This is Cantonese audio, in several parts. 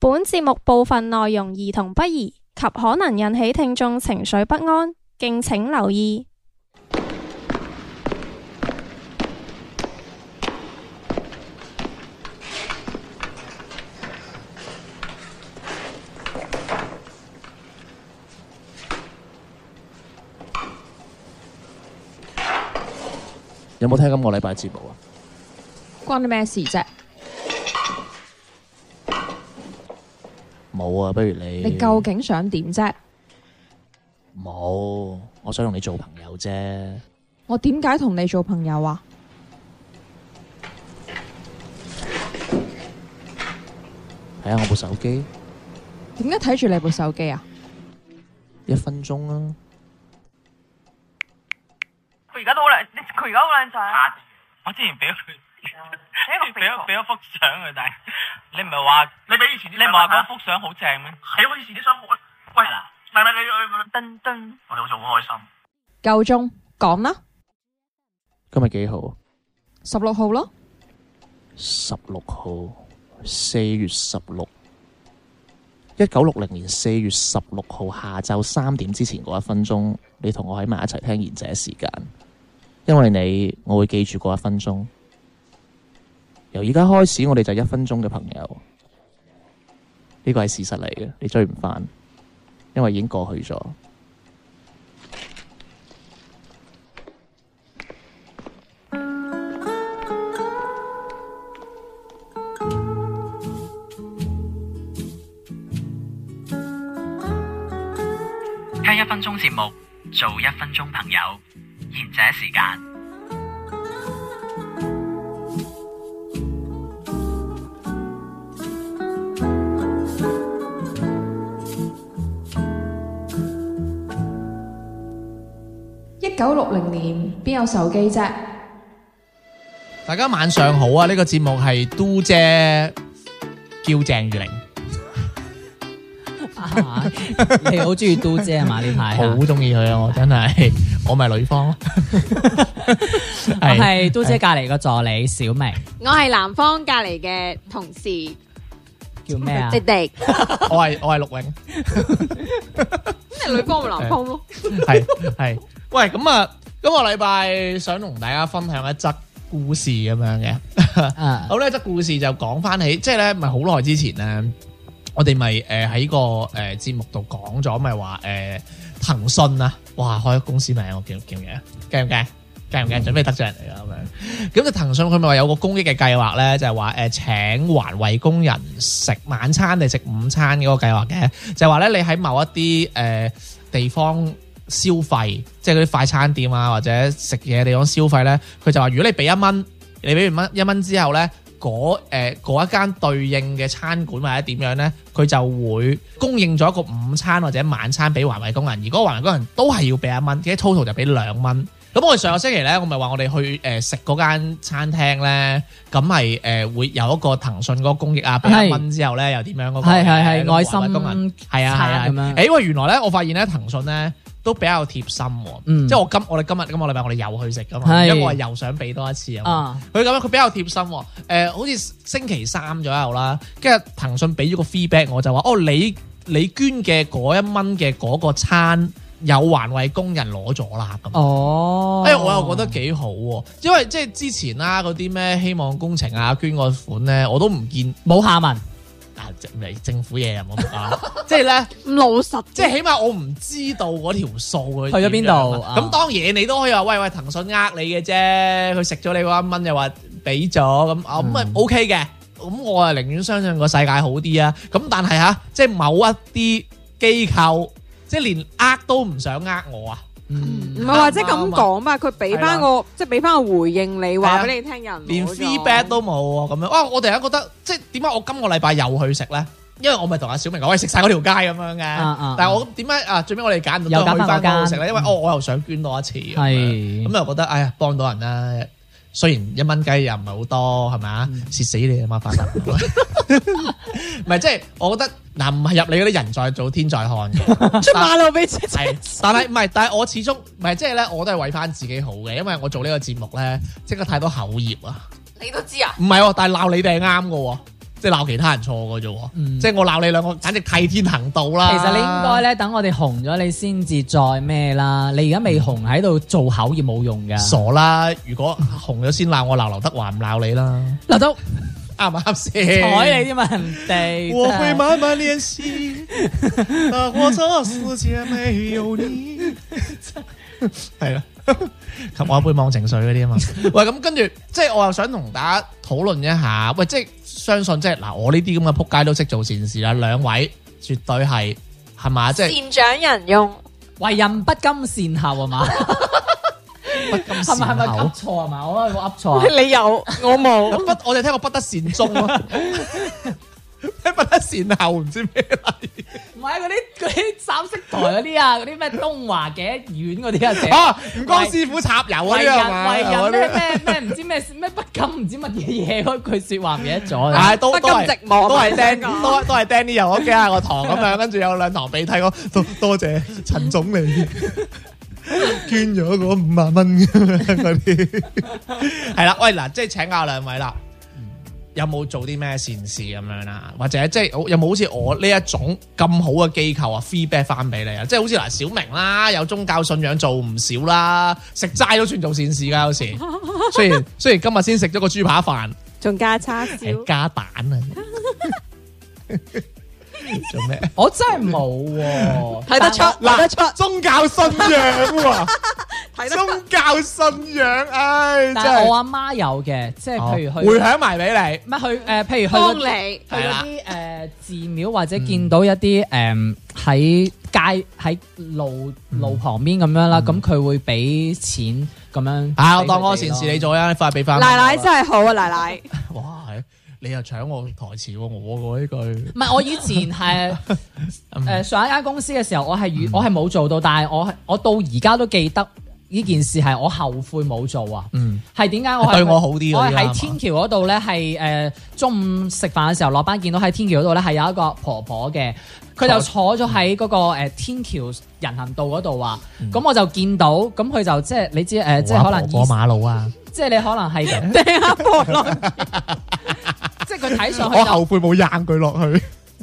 本節目部分內容兒童不宜及可能引起聽眾情緒不安，敬請留意。 有冇聽今個禮拜節目啊？ 關你咩事啫？ 冇啊，不如你。 你究竟想點啫？ 冇，我想同你做朋友啫。 我點解同你做朋友啊？ 睇下我部手機， 點解睇住你部手機啊 1分鐘啊！ 佢而家都好靚，佢而家好靚仔。 我之前俾咗佢，俾咗幅相佢，但係你唔係話你俾以前啲， 你唔係話嗰幅相好正咩？ 係我以前啲相好。喂，唔係你噔噔，我哋好似好開心。 夠鐘講啦今日幾號啊 ？16號咯。 16號4月16 1960年4月16號下晝3點之前嗰1分鐘，你同我喺埋一齊聽賢者時間，因為你我會記住嗰1分鐘。由而家開始，我哋就1分鐘嘅朋友，呢個係事實嚟嘅，你追唔返，因為已經過去咗。 聽1分鐘節目，做1分鐘朋友，賢者時間。 1960年邊有手機啫？ 大家晚上好啊！呢個節目係嘟姐叫鄭裕玲， 你好中意嘟姐啊嘛？呢排好中意佢啊！我真係，我咪女方咯。 我係嘟姐隔籬個助理小明， 我係南方隔籬嘅同事， 叫咩啊？ 迪迪。 我係陸永， 咁你女方咪南方咯？ 係。喂，咁啊，今個禮拜想同大家分享一則故事咁樣嘅。好呢則故事就講翻起，即係咧，咪好耐之前咧，我哋咪喺個節目度講咗，咪話騰訊啊，哇開公司名我叫唔叫嘅？驚唔驚？驚唔驚？準備得罪人嚟㗎咁樣。咁就騰訊佢咪話有個公益嘅計劃咧，就係話請環衛工人食晚餐定食午餐嗰個計劃嘅，就係話咧你喺某一啲地方消費，即係嗰啲快餐店啊或者食嘢地方消費咧，佢就話如果你俾1蚊，你俾完1蚊之後咧，嗰一間對應嘅餐館或者點樣咧，佢就會供應咗一個午餐或者晚餐俾環衛工人，而嗰個環衛工人都係要俾1蚊，嘅 total 就俾2蚊。咁我哋上個星期咧，我咪話我哋去食嗰間餐廳咧，咁咪會有一個騰訊嗰個公益啊，俾1蚊之後咧又點樣嗰個係愛心工人係啊咁樣。 喂，原來咧我發現咧騰訊咧都比較貼心喎，即係我哋今日今個禮拜我哋又去食噶嘛，因為我係又想俾多一次啊。佢咁樣佢比較貼心喎，好似星期3左右啦，跟住騰訊俾咗個 feedback 我就話你捐嘅嗰1蚊嘅嗰個餐有環衛工人攞咗啦咁。我又覺得幾好喎，因為即係之前啦嗰啲咩希望工程啊捐個款咧，我都唔見冇下文。 政府嘢又冇講，即係咧咁老實， 即係起碼我唔知道嗰條數去咗邊度。 咁當然你都可以話喂騰訊呃你嘅啫，佢食咗你嗰1蚊又話俾咗咁咪 OK 嘅。咁我係寧願相信個世界好啲啊。咁但係即係某一啲機構即係連呃都唔想呃我啊。 唔係或者咁講嘛，佢俾翻個即係俾翻個回應你，話俾你聽人連 feedback 都冇喎咁樣。哇！我突然間覺得即係點解我今個禮拜又去食咧？因為我咪同阿小明講，喂食晒嗰條街咁樣嘅。但係我點解最尾我哋揀唔到去翻嗰度食咧？因為我又想捐多一次。係咁又覺得哎呀幫到人啦。雖然1蚊雞又唔係好多係咪啊？蝕死你啊嘛！發達唔係即係我覺得嗱，唔係入你嗰啲人在做天在看嘅， 出馬路俾錢。 但係唔係，但係我始終唔係即係咧，我都係為翻自己好嘅，因為我做呢個節目咧，即刻太多口業啊！ 你都知啊？ 唔係喎，但係鬧你哋係啱嘅喎。 即係鬧其他人錯嘅啫喎。即係我鬧你兩個，簡直替天行道啦。 其實你應該咧等我哋紅咗，你先至再咩啦。你而家未紅喺度做口業冇用㗎。 傻啦！如果紅咗先鬧我，鬧劉德華唔鬧你啦。 劉德啱唔啱先？ 睬你添嘛人哋。 我會慢慢練習，我這世界沒有你。係啦，及我一杯忘情水嗰啲啊嘛。喂，咁跟住，即係我又想同大家討論一下。喂，即係相信即係嗱，我呢啲咁嘅仆街都識做善事啦。兩位絕對係嘛？即係善長仁翁， 為人不甘善後啊嘛。係咪噏錯啊嘛？我噏錯啊！ 你有我冇？ 我哋聽過不得善終咯，聽不得善後唔知咩嚟？ 唔係嗰啲三色台嗰啲啊，嗰啲咩東華嘅院嗰啲啊，寫吳江師傅插油嗰啲係嘛？ 為人咩唔知咩不甘唔知乜嘢嘢嗰句説話唔記得咗。 係都不甘寂寞， 都係釘都係釘啲油，我幾下個堂咁樣，跟住有兩堂鼻涕我多謝陳總理。捐咗嗰5萬蚊嗰啲，係啦，喂嗱，即係請教兩位啦，有冇做啲咩善事咁樣啦？或者即係有冇好似我呢一種咁好嘅機構啊 feedback 翻俾你啊？即係好似嗱小明啦，有宗教信仰做唔少啦，食齋都算做善事噶，有時雖然今日先食咗個豬扒飯， 仲加叉燒， 加蛋啊！做咩？ 我真係冇喎， 睇得出，睇得出宗教信仰喎，宗教信仰，唉，真係我阿媽有嘅，即係譬如去回響埋俾你， 乜去譬如去幫你去嗰啲寺廟或者見到一啲喺街喺路旁邊咁樣啦，咁佢會俾錢咁樣。 啊，我當嗰個善事你做啊，你快俾翻。 奶奶真係好啊，奶奶。 哇，你又搶我台詞喎，我呢句。 唔係，我以前係上一間公司嘅時候，我係冇做到，但係我到而家都記得呢件事係我後悔冇做啊。係點解我對我好啲？ 我係喺天橋嗰度咧，係中午食飯嘅時候落班見到喺天橋嗰度咧係有一個婆婆嘅，佢就坐咗喺嗰個天橋人行道嗰度啊。咁我就見到，咁佢就即係你知即係可能過馬路啊， 即係你可能係掟下婆落。 即係佢睇上去， 我後悔冇扔佢落去。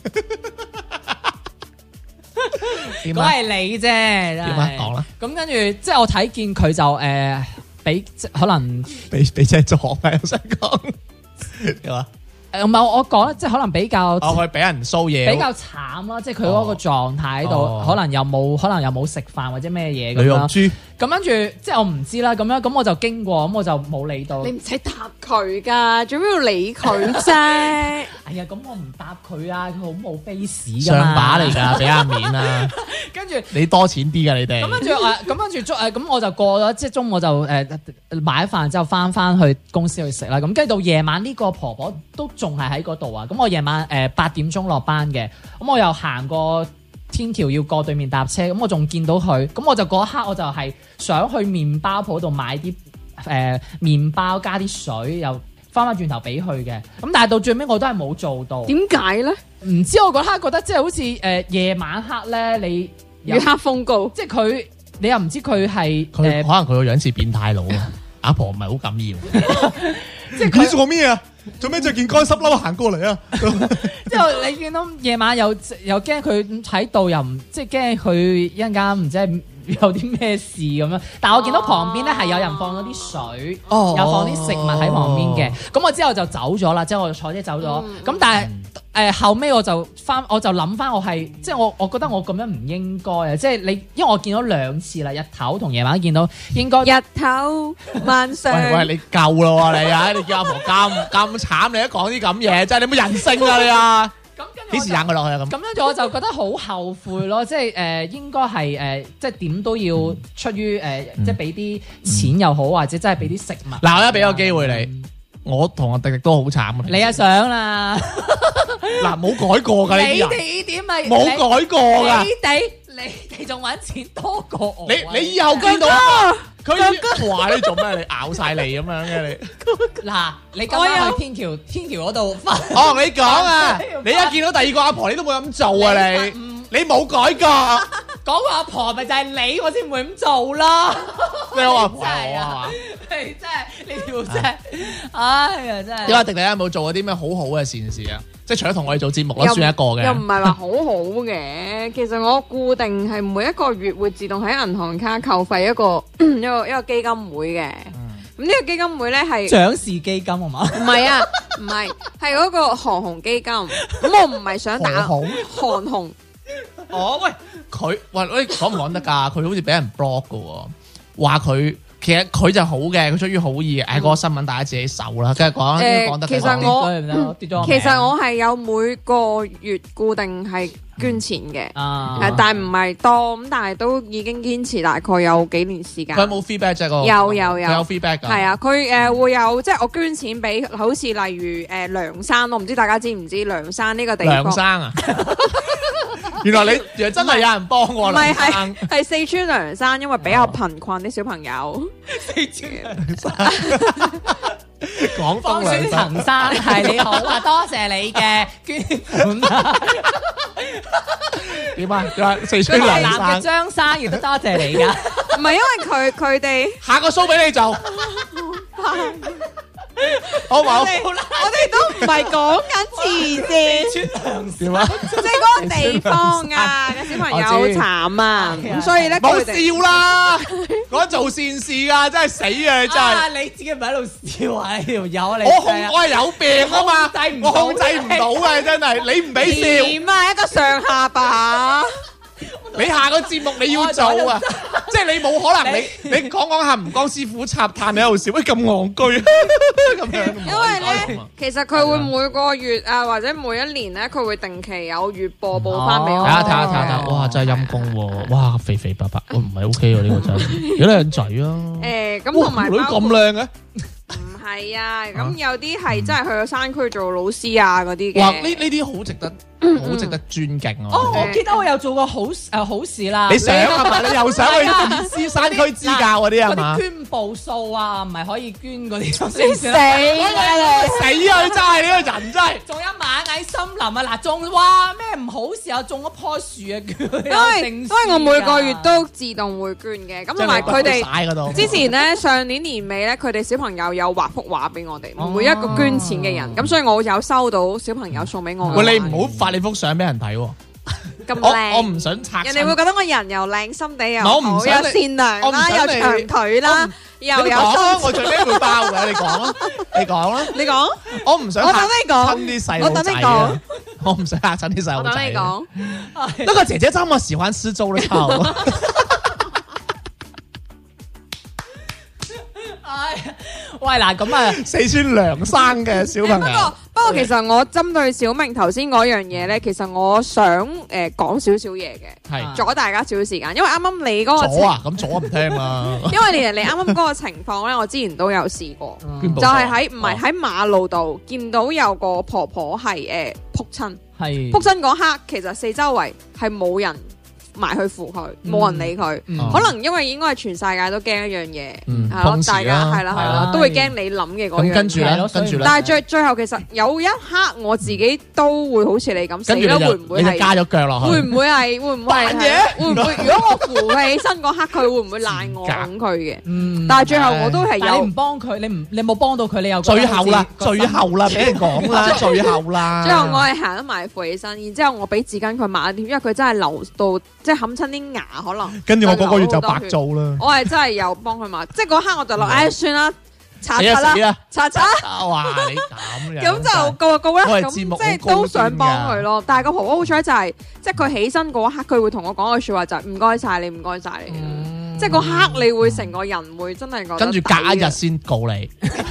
嗰係你啫，點啊？講啦。 咁跟住，即係我睇見佢就俾可能俾隻撞啊！我想講點啊？ 唔係我講，即係可能比較佢俾人騷嘢， 比較慘啦。即係佢嗰個狀態喺度，可能又冇食飯或者咩嘢咁樣。 女肉豬。 咁跟住，即係我唔知啦。咁我就經過，咁我就冇理到。 你唔使答佢噶，做咩要理佢啫？ 哎呀，咁我唔答佢啊，佢好冇 face 噶嘛。 上把嚟㗎，俾下面啊！ 跟住你多錢啲㗎，你哋。 咁我就過咗，即係中午我就買飯之後翻去公司去食啦。咁跟住到夜晚呢個婆婆都仲係喺嗰度啊。咁我夜晚8點鐘落班嘅，咁我又行過天橋要過對面搭車，咁我仲見到佢，咁我就嗰一刻我就係想去麵包鋪度買啲麵包加啲水，又翻轉頭俾佢嘅，咁但係到最尾我都係冇做到。 點解咧？ 唔知我嗰刻覺得即係好似夜晚黑咧，你月黑風高， 即係佢你又唔知佢係可能佢個樣似變態佬啊！阿婆唔係好敢要， 即係佢做咩啊？做咩着件乾濕褸行過嚟啊？ 之後你見到夜晚又驚佢喺度，又唔即係驚佢一陣間唔知係有啲咩事咁樣。但係我見到旁邊咧係有人放咗啲水，又放啲食物喺旁邊嘅。咁我之後就走咗啦，即係我就坐車走咗。咁但係後尾我就諗翻，我係即係我覺得我咁樣唔應該啊！即係你，因為我見到2次啦，日頭同夜晚見到，應該日頭晚上。 喂，你夠啦你啊！你叫阿婆咁慘，你都講啲咁嘢，真係你冇人性啊你啊！咁幾時扔佢落去啊？咁樣我就覺得好後悔咯，即係應該係即係點都要出於即係俾啲錢又好，或者真係俾啲食物。 嗱，我而家俾個機會你，我同阿迪迪都好慘啊！ 你啊想啦， 嗱冇改過㗎， 你哋呢點咪冇改過㗎， 你哋仲揾錢多過我。 你以後見到佢話你做咩？你咬晒脷咁樣嘅你。 嗱，你今晚去天橋嗰度翻。 哦，你講啊！你一見到第二個阿婆，你都冇咁做啊！你冇改過。 講個阿婆咪就係你，我先唔會咁做啦。 你話阿婆係嘛？ 你真係呢條真係，哎呀真係。 點解迪迪有冇做過啲咩好好嘅善事啊？ 即係除咗同我哋做節目啦， 又算一個嘅。 又唔係話好好嘅。其實我固定係每一個月會自動喺銀行卡扣費一個基金會嘅。咁呢個基金會咧係獎事基金係嘛？ 唔係啊？唔係，係嗰個航空基金。咁我唔係想打航空。 哦，喂，喂，講唔講得㗎？佢好似俾人 block 㗎喎，話佢。其實佢就好嘅，佢出於好意嘅。嗰個新聞大家自己搜啦，跟住講得。 其實我係有每個月固定係捐錢嘅，但係唔係多咁，但係都已經堅持大概有幾年時間。 佢有冇 feedback 啫？ 有佢有 feedback 㗎。係啊，佢會有即係我捐錢俾，好似例如梁山，我唔知大家知唔知梁山呢個地方？梁山啊！原來真係有人幫我。唔係係四川涼山，因為比較貧困啲小朋友。 四川涼山，廣東涼山。 陳生係你好啊，多謝你嘅捐款啊！ 點啊？四川涼山嘅張生亦都多謝你㗎。 唔係因為佢哋下個 show 俾你做。好唔好？ 我哋都唔係講緊慈善，即係嗰個地方啊嘅小朋友好慘啊，咁所以咧冇笑啦，講做善事噶，真係死啊！真係你自己唔喺度笑啊！呢條友你我係有病啊嘛，我控制唔到啊！真係你唔俾笑， 點啊？一個上下巴。 你下個節目你要做啊，即係你冇可能你講下吳江師傅插炭你喺度笑，喂咁戇居咁樣。 因為咧，其實佢會每個月啊或者每一年咧，佢會定期有月播報翻俾我。 睇下，哇真係陰公喎，哇肥肥白白，唔係 OK 喎呢個真係，有靚仔啊。 咁同埋女咁靚嘅。 唔係啊，咁有啲係真係去咗山區做老師啊嗰啲嘅。 哇！呢啲好值得，好值得尊敬啊！ 我記得我有做過好事啦。 你想啊嘛？你又想去師山區支教嗰啲係嘛？ 嗰啲捐步數啊，唔係可以捐嗰啲。 死啊你！ 死啊！真係呢個人真係。 仲有螞蟻森林啊！嗱，種哇咩唔好事啊？種一棵樹啊！ 因為我每個月都自動會捐嘅，咁同埋佢哋之前咧上年年尾咧，佢哋小朋友有畫幅畫俾我哋，每一個捐錢嘅人，咁所以我有收到小朋友送俾我。 喂，你唔好發你幅相俾人睇喎， 咁靚， 我唔想拆。 人哋會覺得我人又靚，心地又好， 又善良啦，又長腿啦，又有我最尾會包嘅，你講啦，你講，我唔想嚇親啲細路仔啊，我唔想嚇親啲細路仔。 我等你講， 那個姐姐這麼喜歡吃粥的臭。 喂嗱，咁啊， 四川涼山嘅小朋友。 不過其實我針對小明頭先嗰樣嘢咧，其實我想講少少嘢嘅，係阻大家少少時間，因為啱啱你嗰個阻啊，咁阻唔聽啦。 因為你啱啱嗰個情況咧，我之前都有試過，就係喺馬路度見到有個婆婆係仆親，仆親嗰刻其實四周圍係冇人埋去扶佢，冇人理佢，可能因為應該係全世界都驚一樣嘢，係咯，大家係啦，都會驚你諗嘅嗰樣。 跟住咧， 但係最後其實有一刻我自己都會好似你咁死啦，會唔會係加咗腳落去？ 會唔會係？會唔會？如果我扶佢起身嗰刻，佢會唔會賴我拱佢嘅？但係最後我都係有。 你唔幫佢，你冇幫到佢，你又最後啦，俾人講啦，最後啦。 最後我係行得埋扶起身，然之後我俾紙巾佢抹一點，因為佢真係流到。即係冚親啲牙可能， 跟住我嗰個月就白做啦。 我係真係有幫佢抹，即係嗰刻我就諗，唉算啦，擦啦，擦。 哇！你咁樣， 咁就告啦。咁即係都想幫佢咯。但係個婆婆好彩就係，即係佢起身嗰刻，佢會同我講句説話就係唔該晒你，唔該晒你。即係嗰刻你會成個人會真係覺得。 跟住隔一日先告你。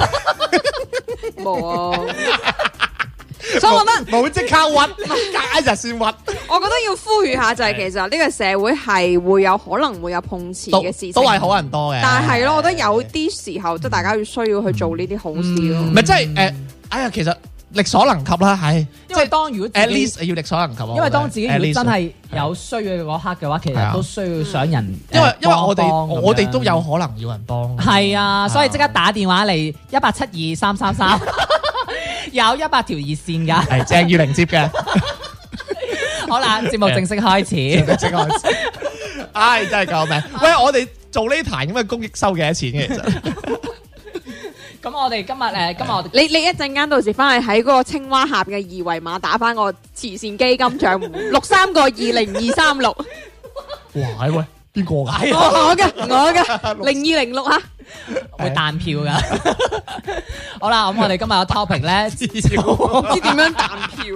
冇啊。所以我覺得冇即刻屈，隔一日先屈。 我覺得要呼籲下就係其實呢個社會係會有可能會有碰瓷嘅事情， 都係好人多嘅。 但係咯，我覺得有啲時候即係大家要需要去做呢啲好事咯。 唔係即係哎呀，其實力所能及啦，係。 因為當如果 at least 要力所能及。 因為當自己如果真係有需要嘅嗰刻嘅話，其實都需要想人。 因為我哋都有可能要人幫。 係啊，所以即刻打電話嚟1722333。有100條熱線㗎， 係鄭裕玲接嘅。 好啦，節目正式開始。 唉，真係救命！喂，我哋做呢壇咁嘅公益收幾多錢嘅？其實咁我哋今日我哋你一陣間到時翻去喺嗰個青蛙下邊嘅二維碼打翻個慈善基金賬戶63個20236。 哇！喂，邊個㗎？ 我嘅0206嚇， 會彈票㗎。好啦，咁我哋今日個 topic 咧， 唔知點樣彈票。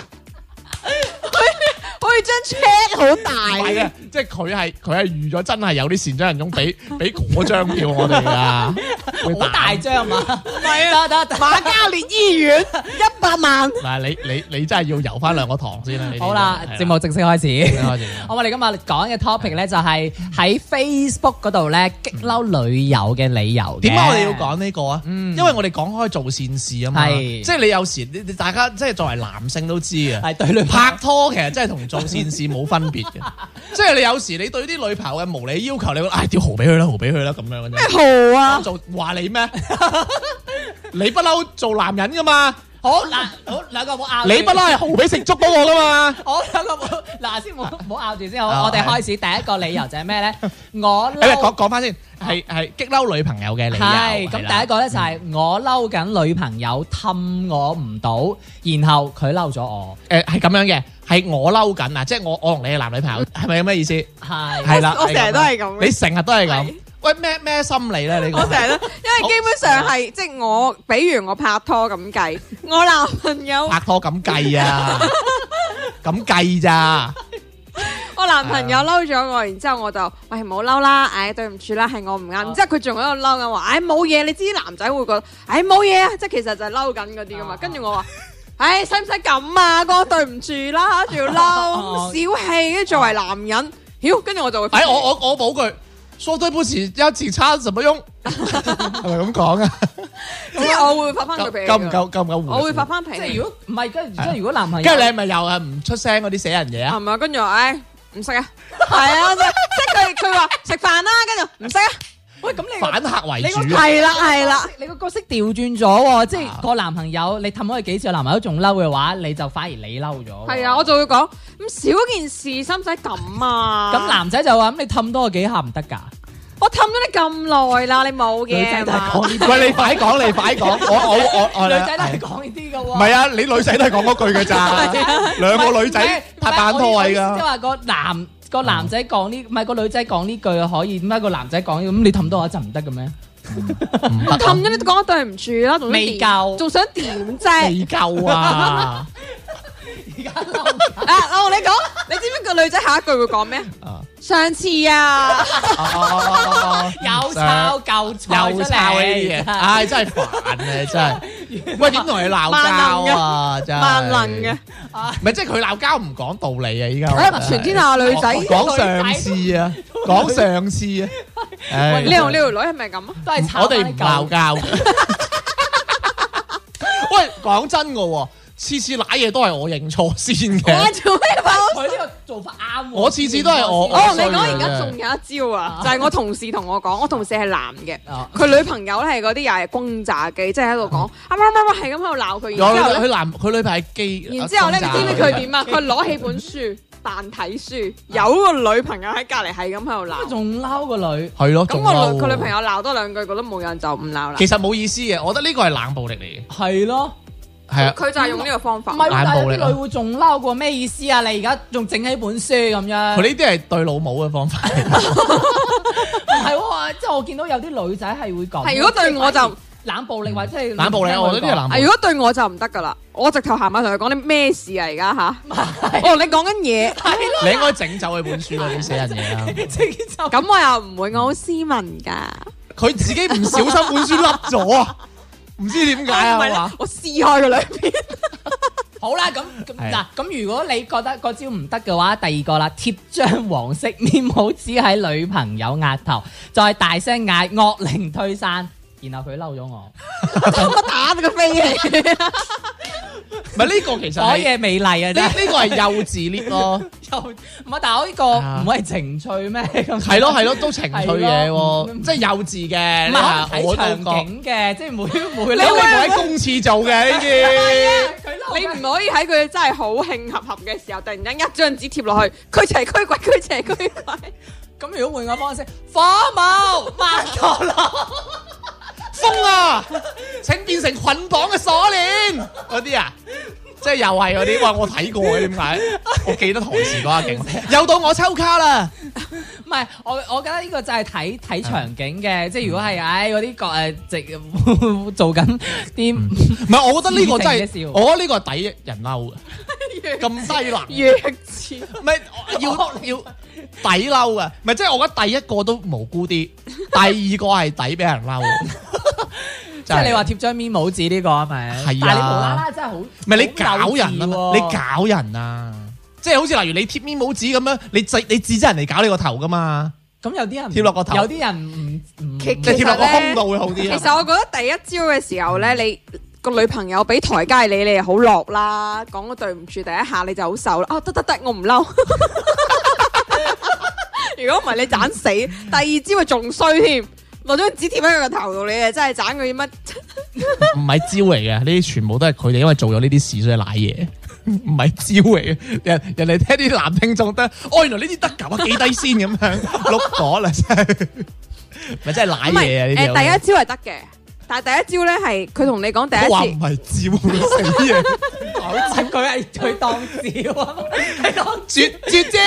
可以張 check 好大嘅，即係佢係預咗真係有啲善長人中俾嗰張票我哋噶， 好大張嘛？ 係啊，得瑪嘉烈醫院100萬。 嗱，你真係要游翻2個堂先啦。 好啦，節目正式開始。我哋今日講嘅 topic 咧就係喺 Facebook 嗰度咧激嬲女友嘅理由。 點解我哋要講呢個啊？因為我哋講開做善事啊嘛，即係你有時大家即係作為男性都知啊， 係對女拍拖其實真係同做善事冇分別嘅，即係你有時你對啲女朋友嘅無理要求，你會屌豪俾佢啦，豪俾佢啦咁樣嘅啫。 咩豪啊？ 做話你咩？你不嬲做男人噶嘛？ 好嗱，好兩個冇拗。 你不嬲係豪俾食粥嗰個噶嘛？ 好兩個冇嗱先冇拗住先好。我哋開始第一個理由就係咩咧？我講翻先，係激嬲女朋友嘅理由。 係咁，第一個咧就係我嬲緊女朋友氹我唔到，然後佢嬲咗我。 係咁樣嘅，係我嬲緊啊！即係我同你係男女朋友，係咪有咩意思？係啦， 我成日都係咁。 你成日都係咁。喂，咩心理咧？你我成日都，因為基本上係即係我，比如我拍拖咁計，我男朋友拍拖咁計啊，咁計咋？ 我男朋友嬲咗我，然之後我就喂唔好嬲啦，唉對唔住啦，係我唔啱。然之後佢仲喺度嬲緊話，唉冇嘢，你知啲男仔會覺得，唉冇嘢啊，即係其實就係嬲緊嗰啲噶嘛。跟住我話，唉使唔使咁啊？哥對唔住啦，仲要嬲，小氣，跟住作為男人，妖，跟住我就會， 我補句。說對不起，一次差什麼用？係咪咁講啊？ 即係我會發翻佢脾氣。 夠唔夠？ 我會發翻脾氣。 即係如果唔係，即係如果男朋友， 跟住你係咪又係唔出聲嗰啲死人嘢啊？ 係咪？跟住話，唉唔識啊，係啊，即係佢話食飯啦，跟住唔識啊。 喂，咁你反客為主， 係啦， 你個角色調轉咗喎，即係個男朋友你氹咗佢幾次，個男朋友仲嬲嘅話，你就反而你嬲咗。 係啊，我就會講咁少件事，使唔使咁啊？ 咁男仔就話咁你氹多我幾下唔得㗎？ 我氹咗你咁耐啦，你冇嘅。 女仔都係講呢啲。 喂，你快講，我女仔都係講呢啲㗎喎。 唔係啊，你女仔都係講嗰句㗎咋？兩個女仔拍板拖位㗎。 即係話個男仔講呢，唔係個女仔講呢句可以，點解個男仔講咁你氹多我一陣唔得嘅咩？ 我氹咗你講對唔住啦，仲未夠， 仲想點啫？ 未夠啊！ 而家嬲我同你講，你知唔知個女仔下一句會講咩？上次啊， 有抄舊菜又抄呢啲嘢，唉，真係煩啊！真係，喂，點同你鬧交啊？真係萬能嘅， 唔係即係佢鬧交唔講道理啊！依家全天下女仔講上次啊，講上次啊， 你同呢條女係咪咁啊？ 都係我哋唔鬧交。喂，講真嘅喎。次次揦嘢都係我認錯先嘅。 我做咩佢呢個做法啱喎。 我次次都係我。 我同你講，而家仲有一招啊，就係我同事同我講，我同事係男嘅，佢女朋友咧係嗰啲又係轟炸機，即係喺度講乜係咁喺度鬧佢。然之後佢女朋友係機。 然之後咧，你知唔知佢點啊？佢攞起本書扮睇書，有個女朋友喺隔離係咁喺度鬧。 仲嬲個女。 係咯。 咁佢女朋友鬧多兩句，覺得冇人就唔鬧啦。 其實冇意思嘅，我覺得呢個係冷暴力嚟嘅。 係咯。 係啊， 佢就係用呢個方法。 唔係，但係啲女會仲嬲過咩意思啊？你而家仲整起本書咁樣。 佢呢啲係對老母嘅方法。 唔係喎，即係我見到有啲女仔係會講。 係如果對我就冷暴力或者係冷暴力，我覺得呢啲係冷暴力。 如果對我就唔得噶啦，我直頭行埋同佢講啲咩事啊？而家吓，我同你講緊嘢。 你應該整走佢本書嗰啲死人嘢啊！ 咁我又唔會，我好斯文噶。 佢自己唔小心本書甩咗啊！唔知點解啊？ 我撕開佢兩邊。 好啦，咁嗱，咁如果你覺得個招唔得嘅話，第二個啦，貼張黃色面帽紙喺女朋友額頭，再大聲嗌惡靈退散，然後佢嬲咗我， 我打佢飛起。 唔係呢個其實講嘢美麗啊！ 呢個係幼稚 lift 咯， 唔係，但係我呢個唔係情趣咩？ 係咯，都情趣嘢喎，即係幼稚嘅。 唔係睇場景嘅，即係每你會喺公廁做嘅呢啲。 你唔可以喺佢真係好興合合嘅時候，突然間一張紙貼落去，驅邪驅鬼，驅邪驅鬼。 咁如果換個方式，火舞曼陀羅。 風啊，請變成捆綁嘅鎖鏈嗰啲啊，即係又係嗰啲。哇！我睇過嘅，點解？我記得台詞嗰下勁。又到我抽卡啦。 唔係，我覺得呢個就係睇場景嘅，即係如果係嗰啲做緊啲， 唔係，我覺得呢個真係，我覺得呢個係抵人嬲嘅，咁低能， 弱智， 唔係要抵嬲嘅，唔係即係我覺得第一個都無辜啲，第二個係抵俾人嬲。 即係你話貼張面冇紙呢個係咪？係啊，但係你無啦啦真係好，唔係你搞人啊嘛，你搞人啊！即係好似例如你貼面冇紙咁樣，你指責人哋搞你個頭噶嘛？ 咁有啲人貼落個頭， 有啲人唔其實貼落個胸度會好啲。 其實我覺得第一招嘅時候咧，你個女朋友俾台階你又好落啦，講個對唔住第一下你就好受啦。哦，得，我唔嬲。如果唔係你斬死，第二招咪仲衰添，落張紙貼喺佢個頭度，你啊真係斬佢啲乜？ 唔係招嚟嘅，呢啲全部都係佢哋因為做咗呢啲事所以賴嘢。唔係招嚟嘅，人哋聽啲男聽眾得，原來呢啲得㗎，幾低先咁樣碌咗啦，真係咪真係賴嘢啊？呢啲第一招係得嘅，但係第一招咧係佢同你講第一次， 話唔係招死嘢， 佢當招啊，係當絕招。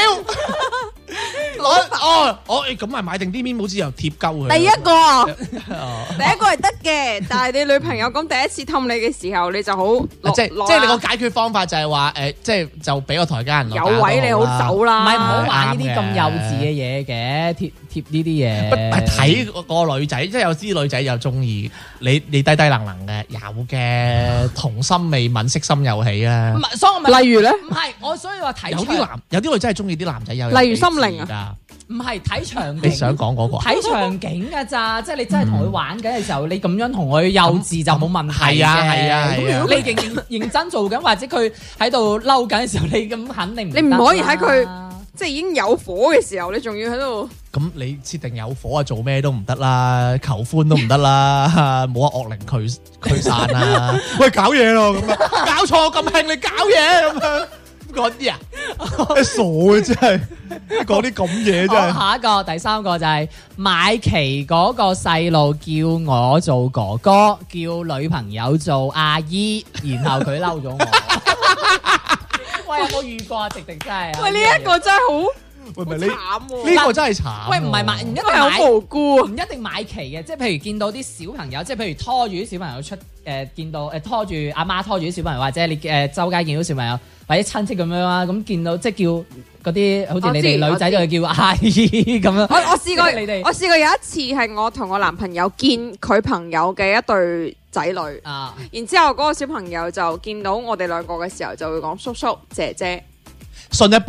咁咪買定啲面冇紙又貼鳩佢。 第一個係得嘅，但係你女朋友講第一次氹你嘅時候，你就好即係你個解決方法就係話即係就俾個台階人落。 有位你好走啦， 唔係唔好玩呢啲咁幼稚嘅嘢嘅，貼呢啲嘢。 係睇個女仔，即係有啲女仔又中意你低能嘅，有嘅童心未泯，色心又起啊。 唔係，所以我咪例如咧， 唔係我所以話睇有啲女真係中意啲男仔有， 例如心靈啊。 唔係睇場景， 你想講嗰個睇場景㗎咋，即係你真係同佢玩緊嘅時候，你咁樣同佢幼稚就冇問題嘅。 係啊。 咁如果你認真做緊，或者佢喺度嬲緊嘅時候，你咁肯定你唔可以喺佢即係已經有火嘅時候，你仲要喺度。 咁你設定有火啊，做咩都唔得啦，求歡都唔得啦，冇惡靈驅散啦。喂，搞嘢咯咁樣，搞錯咁興你搞嘢咁樣。嗰啲啊，你傻嘅真係，講啲咁嘢真係。 下一個第三個就係買旗嗰個細路叫我做哥哥，叫女朋友做阿姨，然後佢嬲咗我。喂，有冇遇過啊？直真係。 喂，呢一個真係好。 喂，唔係慘喎， 呢個真係慘。 喂，唔係買，唔一定買好無辜， 唔一定買旗嘅，即係譬如見到啲小朋友，即係譬如拖住啲小朋友出，見到拖住阿媽拖住啲小朋友，或者你周街見到小朋友或者親戚咁樣啦，咁見到即係叫嗰啲好似你哋女仔就叫阿姨咁樣。 我試過，我試過有一次係我同我男朋友見佢朋友嘅一對仔女，然之後嗰個小朋友就見到我哋兩個嘅時候就會講叔叔姐姐。 信一半，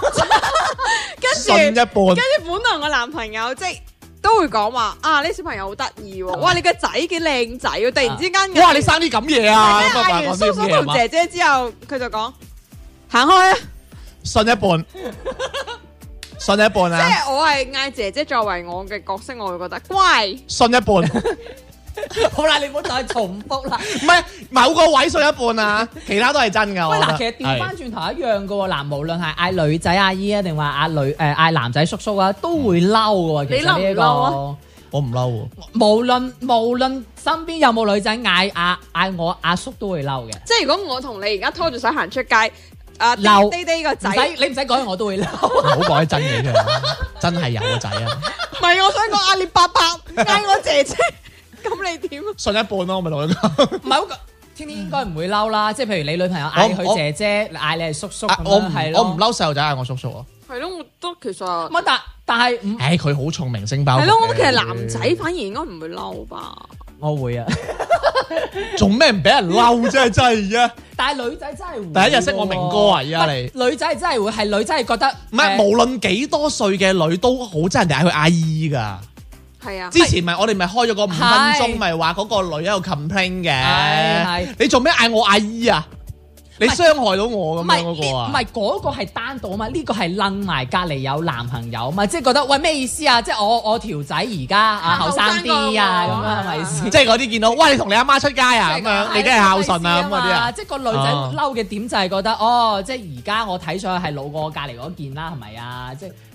信一半，跟住本來我男朋友即係都會講話啊，呢小朋友好得意喎，哇你個仔幾靚仔喎，突然之間哇你生啲咁嘢啊， 嗌完叔叔同姐姐之後，佢就講行開啊， 信一半，信一半啊， 即係我係嗌姐姐作為我嘅角色，我會覺得乖， 信一半。 好啦，你唔好再重複啦。 唔係某個位信一半啊，其他都係真噶。 喂，嗱，其實調翻轉頭一樣噶喎。嗱，無論係嗌女仔阿姨啊，定話嗌男仔叔叔啊，都會嬲嘅。 你嬲唔嬲啊？ 我唔嬲。 無論身邊有冇女仔嗌我阿叔都會嬲嘅。 即係如果我同你而家拖住手行出街， 嬲爹爹個仔， 你唔使講，我都會嬲。 唔好講啲真嘢出嚟，真係有個仔啊！ 唔係，我想講阿列伯伯嗌我姐姐。咁你點？ 信一半咯，我咪同佢講。 唔係，天天應該唔會嬲啦。即係譬如你女朋友嗌佢姐姐，嗌你係叔叔咁樣，係咯。 我唔嬲細路仔嗌我叔叔啊。 係咯，我都其實。 乜但係佢好聰明星包。 係咯，我覺得其實男仔反而應該唔會嬲吧。 我會啊。 做咩唔俾人嬲啫？真係啊！ 但係女仔真係會。 第一日識我明哥啊！而家你女仔真係會係女仔係覺得唔係，無論幾多歲嘅女都好憎人哋嗌佢阿姨㗎。 係啊！ 之前我哋咪開咗個5分鐘，咪話嗰個女喺度 complain 嘅。你做咩嗌我阿姨啊？你傷害到我咁樣嗰個啊？ 唔係嗰個係單獨啊嘛，呢個係楞埋隔離有男朋友嘛，即係覺得喂咩意思啊？即係我條仔而家後生啲啊咁樣係咪先？ 即係嗰啲見到喂你同你阿媽出街啊咁樣，你梗係孝順啊咁嗰啲啊？ 即係個女仔嬲嘅點就係覺得哦，即係而家我睇上去係老過隔離嗰件啦，係咪啊？即係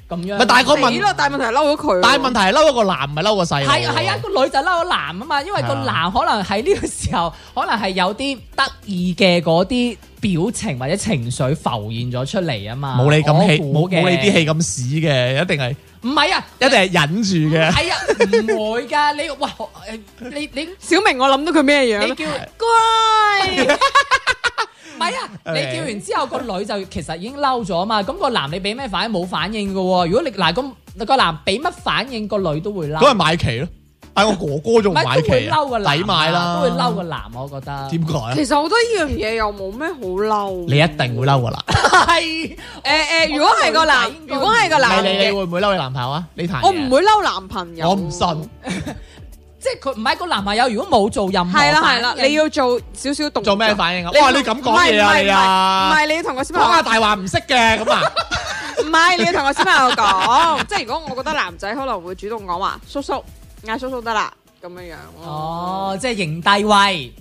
咁樣。 咪但係個問咯，但係問題係嬲咗佢。 但係問題係嬲咗個男，唔係嬲個細路。 係啊，個女就嬲咗男啊嘛，因為個男可能喺呢個時候，可能係有啲得意嘅嗰啲表情或者情緒浮現咗出嚟啊嘛。 冇你咁氣， 冇你啲氣咁屎嘅，一定係。 唔係啊， 一定係忍住嘅。 係啊，唔會㗎。你哇，你小明，我諗到佢咩樣？ 你叫乖。唔係啊，你叫完之後個女就其實已經嬲咗啊嘛。咁個男你俾咩反應？冇反應㗎喎。如果你嗱咁個男俾乜反應，個女都會嬲。 咁係買旗咯。嗌我哥哥仲買旗啊，抵買啦， 都會嬲個男，我覺得。 點解啊？ 其實我覺得呢樣嘢又冇咩好嬲。 你一定會嬲個男。 係如果係個男，如果係個男， 你會唔會嬲你男朋友啊？你談我唔會嬲男朋友。 我唔信。 即係佢唔係個男朋友，如果冇做任何係啦，你要做少少動作。 做咩反應啊？哇！你咁講嘢啊你啊？ 唔係你要同個小朋友講下大話唔識嘅咁啊？ 唔係你要同個小朋友講，即係如果我覺得男仔可能會主動講話叔叔嗌叔叔得啦咁樣樣。 哦，即係認低位。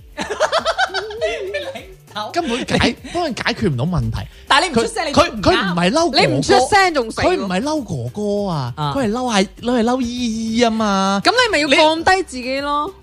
根本幫人解決唔到問題。 但係你唔出聲， 佢唔係嬲哥哥， 你唔出聲仲死。 佢唔係嬲哥哥啊，佢係嬲姨姨啊嘛。 咁你咪要放低自己咯。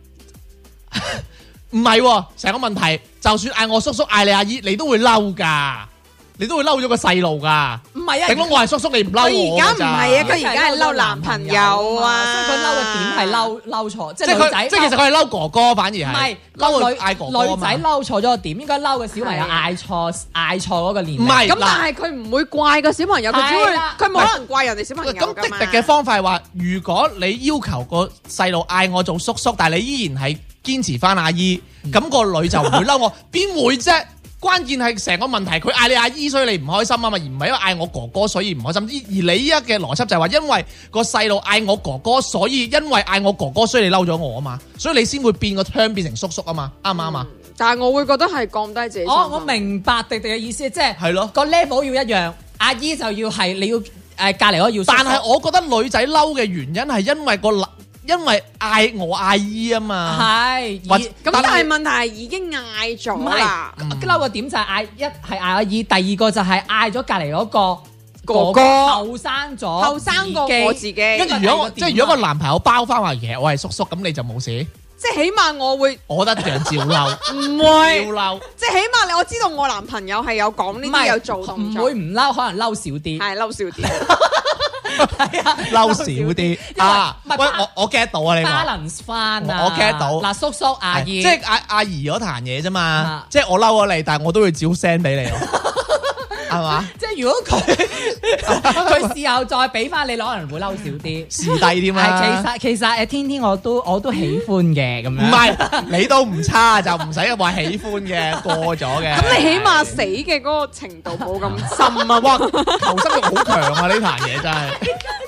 唔係，成個問題，就算嗌我叔叔嗌你阿姨，你都會嬲噶。你都會嬲咗個細路噶， 唔係啊！ 頂多我係叔叔，你唔嬲我。 佢而家唔係啊，佢而家係嬲男朋友啊， 所以佢嬲嘅點係嬲錯，即係女仔。 即係其實佢係嬲哥哥，反而係唔係嬲嗌哥哥。 女仔嬲錯咗個點，應該嬲個小朋友嗌錯嗰個年齡。 唔係咁，但係佢唔會怪個小朋友，佢只會佢冇可能怪人哋小朋友㗎嘛。 咁滴滴嘅方法係話，如果你要求個細路嗌我做叔叔，但係你依然係堅持翻阿姨，咁個女就唔會嬲我，邊會啫？關鍵係成個問題，佢嗌你阿姨，所以你唔開心啊嘛，而唔係因為嗌我哥哥所以唔開心。而你依家嘅邏輯就係話，因為個細路嗌我哥哥，所以因為嗌我哥哥，所以你嬲咗我啊嘛，所以你先會變個腔變成叔叔啊嘛，啱唔啱啊？ 但係我會覺得係降低自己。 我明白迪迪嘅意思，即係係咯個 level 要一樣，阿姨就要係你要隔離嗰個要。但係我覺得女仔嬲嘅原因係因為嗌我阿姨啊嘛， 係咁，但係問題係已經嗌咗啦。 嬲個點就係嗌一係嗌阿姨，第二個就係嗌咗隔離嗰個哥哥後生過我自己。 跟住如果個男朋友包翻話嘢，我係叔叔，咁你就冇事。 即係起碼我會， 我覺得一樣照嬲， 唔會照嬲。 即係起碼我知道我男朋友係有講呢啲有做動作， 唔會唔嬲，可能嬲少啲， 係嬲少啲。 係啊，嬲少啲啊！喂，我 get 到啊，你 balance 翻啊， 我 get 到。 嗱，叔叔阿姨， 即係阿姨嗰壇嘢啫嘛，即係我嬲咗你，但係我都會照 send 俾你咯，係嘛？ 即係如果佢事後再俾翻你，可能會嬲少啲， 視帝添啊。 其實天天我都喜歡嘅咁樣。 唔係你都唔差，就唔使話喜歡嘅過咗嘅。 咁你起碼死嘅嗰個程度冇咁深啊！ 哇，求生欲好強啊！呢壇嘢真係。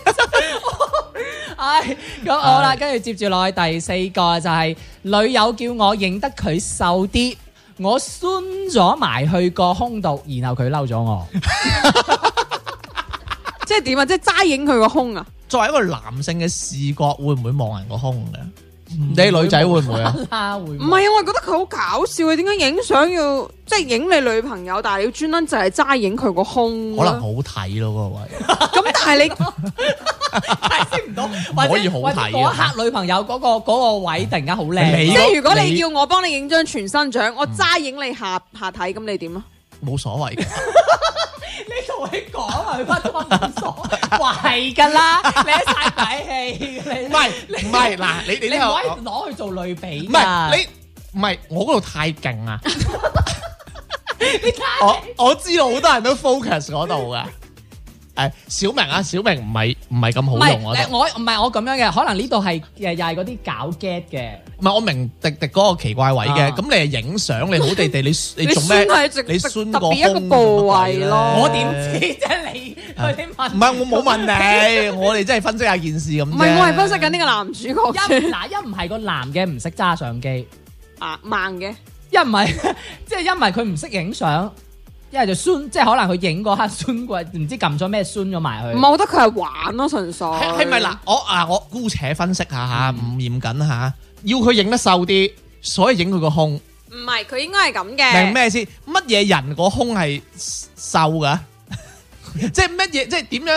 唉，咁好啦，跟住接住落去第四個就係女友叫我認得佢瘦啲，我酸咗埋去個胸度，然後佢嬲咗我。 即係點啊？即係齋影佢個胸啊？ 作為一個男性嘅視覺，會唔會望人個胸嘅？你女仔會唔會啊？ 唔係啊，我係覺得佢好搞笑啊！點解影相要即係影你女朋友，但係你要專登就係齋影佢個胸？ 可能好睇咯，嗰個位。 咁但係你解釋唔到， 可以好睇。 嗰刻女朋友嗰個位突然間好靚。 即係如果你叫我幫你影張全身相，我齋影你下體，咁你點啊？ 冇所謂嘅。 你同佢講啊，佢乜都冇所謂，話係㗎啦，你一晒底氣，你唔係嗱，你唔可以攞去做類比。 唔係你唔係我嗰度太勁啊！我知道好多人都 focus 嗰度嘅。小明啊，小明唔係咁好用我覺得。 我唔係我咁樣嘅，可能呢度係又係嗰啲搞 get 嘅。 唔係我明迪迪嗰個奇怪位嘅，咁你係影相，你好地地，你做咩？你酸個胸一個部位咯。 我點知啫？你問？ 唔係我冇問你，我哋真係分析下件事咁。 唔係我係分析緊呢個男主角。 一唔係個男嘅唔識揸相機啊，慢嘅。 一唔係即係因為佢唔識影相。一係就酸，即係可能佢影嗰刻酸過，唔知撳咗咩酸咗埋去。 唔係，我覺得佢係玩咯，純粹。 係咪嗱？我姑且分析下嚇，唔嚴謹嚇。要佢影得瘦啲，所以影佢個胸。 唔係，佢應該係咁嘅。 明咩先？乜嘢人個胸係瘦㗎？即係乜嘢？即係點樣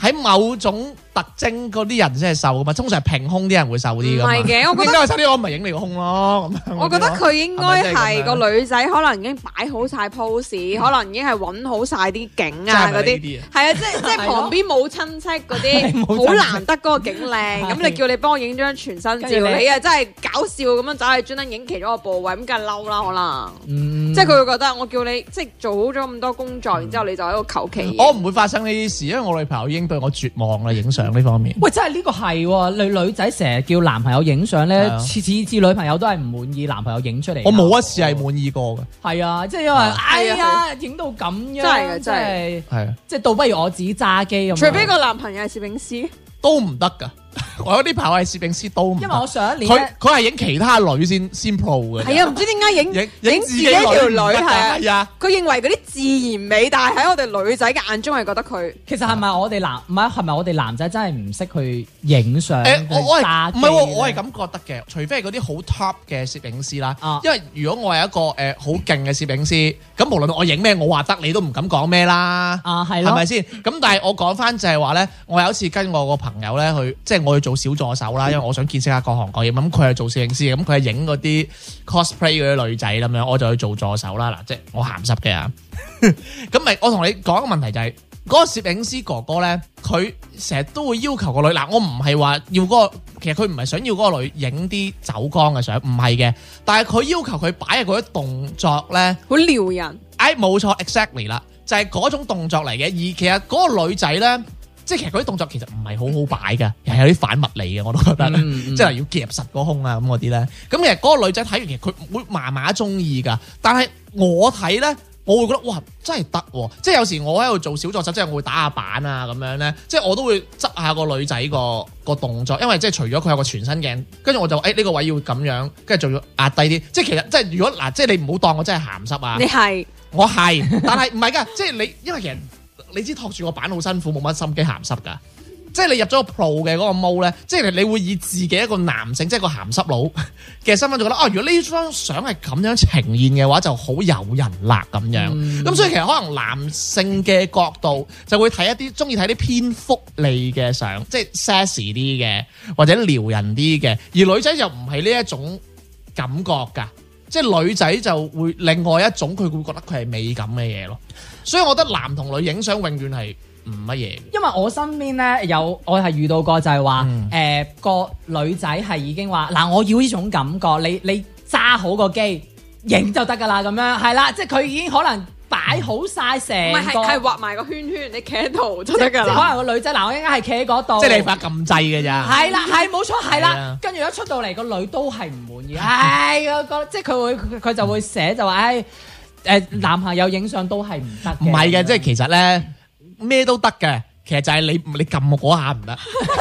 喺某種特徵嗰啲人先係瘦噶嘛，通常係平胸啲人會瘦啲噶嘛。 唔係嘅，我覺得應該係瘦啲，我咪影你個胸咯咁樣。 我覺得佢應該係個女女仔，可能已經擺好晒 pose，可能已經係揾好晒啲景啊嗰啲。係啊，即係旁邊冇親戚嗰啲，好難得嗰個景靚。咁你叫你幫我影張全身照，你啊真係搞笑咁樣走去專登影其中一個部位，咁梗係嬲啦可能。即係佢會覺得我叫你即係做好咗咁多工作，然之後你就喺度求其。 我唔會發生呢啲事，因為我女朋友已經對我絕望啦，影相呢方面。 喂，真係呢個係喎，女仔成日叫男朋友影相咧，次女朋友都係唔滿意男朋友影出嚟。 我冇一次係滿意過嘅。 係啊，即係因為哎呀，影到咁樣，真係係啊，即係倒不如我自己揸機咁。 除非個男朋友係攝影師， 都唔得㗎。我有啲朋友係攝影師都唔得。 因為我上一年佢係影其他女先 pro 嘅。 係啊，唔知點解影自己條女係啊。佢認為嗰啲自然美，但係喺我哋女仔嘅眼中係覺得佢其實係咪我哋係咪我哋男仔真係唔識去影相？ 我係唔係我係咁覺得嘅，除非係嗰啲好 top 嘅攝影師啦。因為如果我係一個好勁嘅攝影師，咁無論我影咩，我話得你都唔敢講咩啦。係咪先？咁但係我講翻就係話咧，我有一次跟我個朋友咧去，即係我去做小助手啦，因為我想見識下各行各業。咁佢係做攝影師，咁佢係影嗰啲 cosplay 嗰啲女仔咁樣，我就去做助手啦。嗱，即係我鹹濕嘅啊。咁咪我同你講個問題就係嗰個攝影師哥哥咧，佢成日都會要求個女。嗱，我唔係話要嗰個，其實佢唔係想要嗰個女影啲走光嘅相，唔係嘅。但係佢要求佢擺嘅嗰啲動作咧， 好撩人。 冇錯 ，exactly 啦，就係嗰種動作嚟嘅。而其實嗰個女仔咧。即係其實嗰啲動作其實唔係好好擺嘅，係有啲反物理嘅，我都覺得。即係要夾實個胸啊咁嗰啲咧。咁其實嗰個女仔睇完，其實佢會麻麻中意㗎。但係我睇咧，我會覺得哇，真係得喎！即係有時我喺度做小助手，即係我會打下板啊咁樣咧。即係我都會執下個女仔個動作，因為即係除咗佢有個全身鏡，跟住我就呢個位要咁樣，跟住仲要壓低啲。即係其實即係如果嗱，即係你唔好當我真係鹹濕啊！ 你係我係，但係唔係㗎，即係你因為其實。你知托住個板好辛苦，冇乜心機鹹濕㗎。即係你入咗個 pro 嘅嗰個 mode咧，即係你會以自己一個男性，即係個鹹濕佬嘅身份，就覺得如果呢張相係咁樣呈現嘅話，就好誘人啦咁樣。咁所以其實可能男性嘅角度就會睇一啲中意睇啲偏福利嘅相，即係 sexy 啲嘅或者撩人啲嘅，而女仔就唔係呢一種感覺㗎。即係女仔就會另外一種，佢會覺得佢係美感嘅嘢咯。所以我覺得男同女影相永遠係唔乜嘢。因為我身邊咧我係遇到過就係話個女仔係已經話嗱，我要呢種感覺，你揸好個機影就得㗎啦咁樣，係啦，即係佢已經可能擺好晒成個係畫埋個圈圈，你企喺度就得㗎啦。 即係可能個女仔嗱，我應該係企喺嗰度， 即係你發撳掣嘅咋。 係啦，係冇錯，係啦。跟住一出到嚟個女都係唔滿意，即係佢就會寫就話男朋友影相都係唔得嘅。唔係嘅， 即係其實咧咩都得嘅，其實就係你撳嗰下唔得。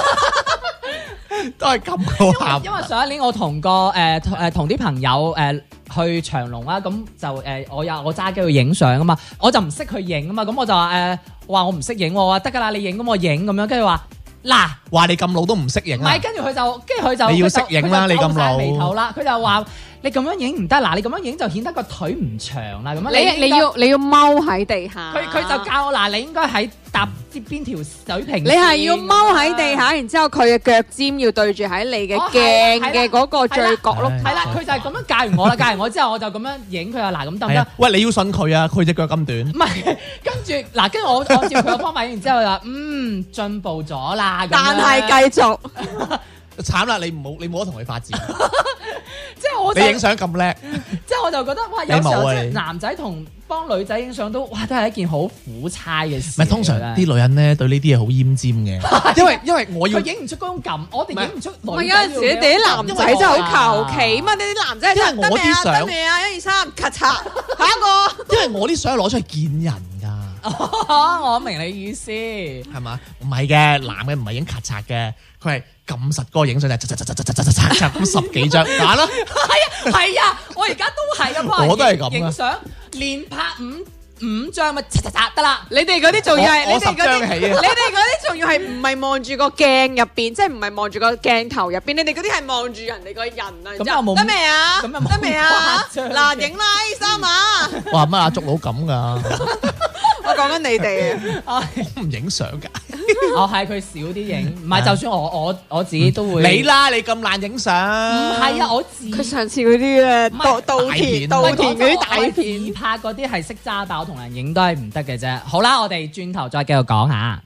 都係咁嗰下。 因為上一年我同同啲朋友去長隆啦，咁就我揸機去影相啊嘛，我就唔識去影啊嘛，咁我就話我唔識影，我話得㗎啦，你影咁我影咁樣，跟住話嗱， 話你咁老都唔識影啊？ 唔係，跟住佢就你要識影啦，你咁老眉頭啦，佢就話你咁樣影唔得，嗱，你咁樣影就顯得個腿唔長啦，咁樣你要踎喺地下， 佢就教我嗱，你應該喺搭邊條水平， 你係要踎喺地下，然之後佢嘅腳尖要對住喺你嘅鏡嘅嗰個最角落， 係啦，佢就係咁樣教完我啦，教完我之後我就咁樣影佢啊，嗱，咁得唔得？ 喂，你要信佢啊，佢隻腳咁短。 唔係，跟住我按照佢嘅方法影完之後就話進步咗啦， 但係繼續。 慘啦！你唔好同佢發展， 即係我你影相咁叻， 即係我就覺得哇，有時候即係男仔同幫女仔影相都係一件好苦差嘅事。 唔係通常啲女人咧對呢啲嘢好奄尖嘅，因為我要佢影唔出嗰種感，我哋影唔出。 唔係有陣時你哋啲男仔真係好求其嘛，你啲男仔因為我啲相得未啊？1、2、3，咔嚓，下一個。 因為我啲相攞出去見人㗎。 我明你意思係嘛？唔係嘅，男嘅唔係影咔嚓嘅，佢係撳實個影相就咁10幾張揀啦。 係啊，我而家都係啊， 我都係咁影相連拍五張咪得啦。 你哋嗰啲仲要係我10張起啊！ 你哋嗰啲仲要係唔係望住個鏡入邊，即係唔係望住個鏡頭入邊？你哋嗰啲係望住人哋個人啊！ 咁又冇得未啊？得未啊？嗱，影啦，3啊！ 哇，乜阿竹佬咁㗎？ 我我講緊你哋啊， 我唔影相㗎。 我係佢少啲影，唔係就算我自己都會。 你啦，你咁懶影相。 唔係啊，我佢上次嗰啲咧稻田嗰啲大片自拍嗰啲係識揸，但我同人影都係唔得嘅啫。好啦，我哋轉頭再繼續講下。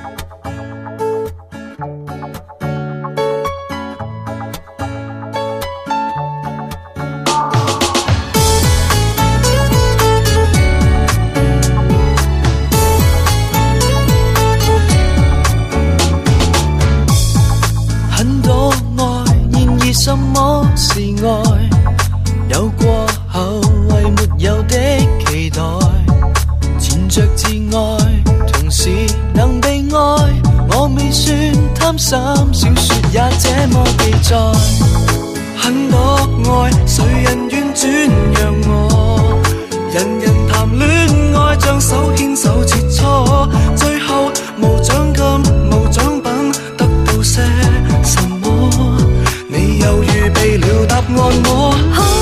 什麼是愛？有過後為沒有的期待，纏着自愛，同時能被愛。我未算貪心，小說也這麼記載。很多愛，誰人願轉讓我？人人談戀愛，將手牽手切磋，最後無獎金無獎品，得到些什麼？你又預備了答案我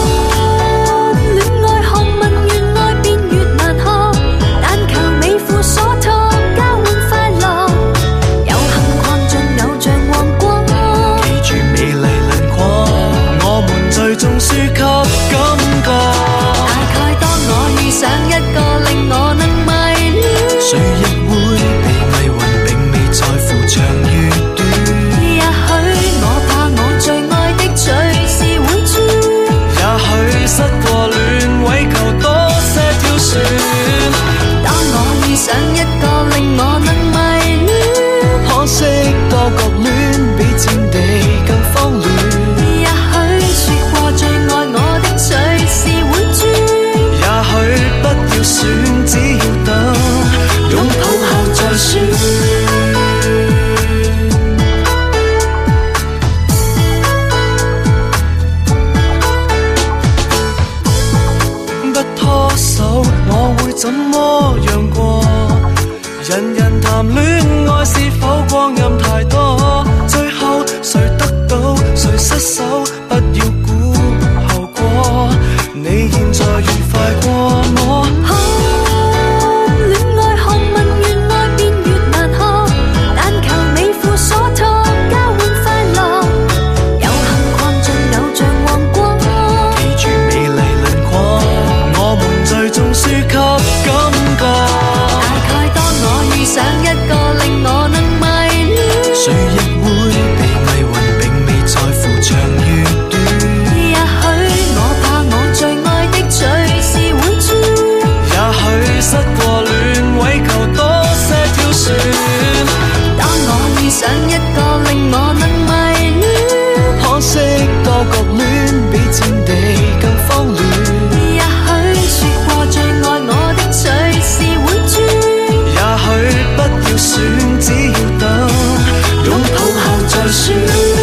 戀愛學問越愛便越難學，但求你負所託，交換快樂，有幸逛盡偶像王國， 記住美麗輪廓，我們最終輸給感覺。 大概當我遇上一個令我能迷戀， 誰亦會被迷魂，並未在乎長與短。 也許我怕我最愛的隨時會轉， 也許失過戀，為求多些挑選。 當我遇上一個令我能迷戀， 可惜多角戀比戰地更慌亂。 也許說過最愛我的隨時會轉， 也許不要選，只要等擁抱後再選。我會怎麼樣過？人人談戀愛，是否光陰太多？最後誰得到誰失手？不要估後果，你現在愉快過我。 戀愛學問越愛便越難學，但求你負所託，交換快樂，有幸逛盡偶像王國， 記住美麗輪廓，我們最終輸給感覺。 大概當我遇上一個令我能迷戀， 誰亦會被迷魂，並未在乎長與短。 也許我怕我最愛的隨時會轉， 也許失過戀，為求多些挑選。 當我遇上一個令我能迷戀， 可惜多角戀比戰地更慌亂。 也許說過最愛我的隨時會轉， 也許不要選，只要等擁抱後再選。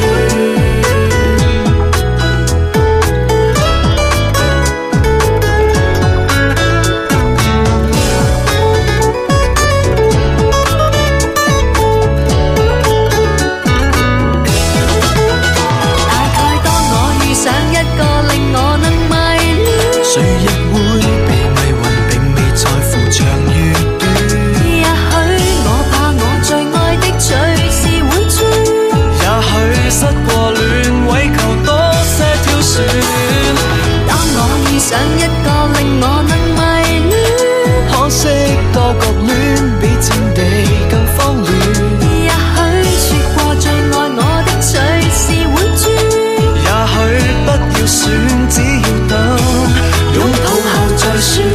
誰亦會被迷魂，並未在乎長與短。 也許我怕我最愛的隨時會轉， 也許失過戀，為求多些挑選。 當我遇上一個令我能迷戀， 可惜多角戀比戰地更慌亂。 也許說過最愛我的隨時會轉， 也許不要選，只要等擁抱後再選。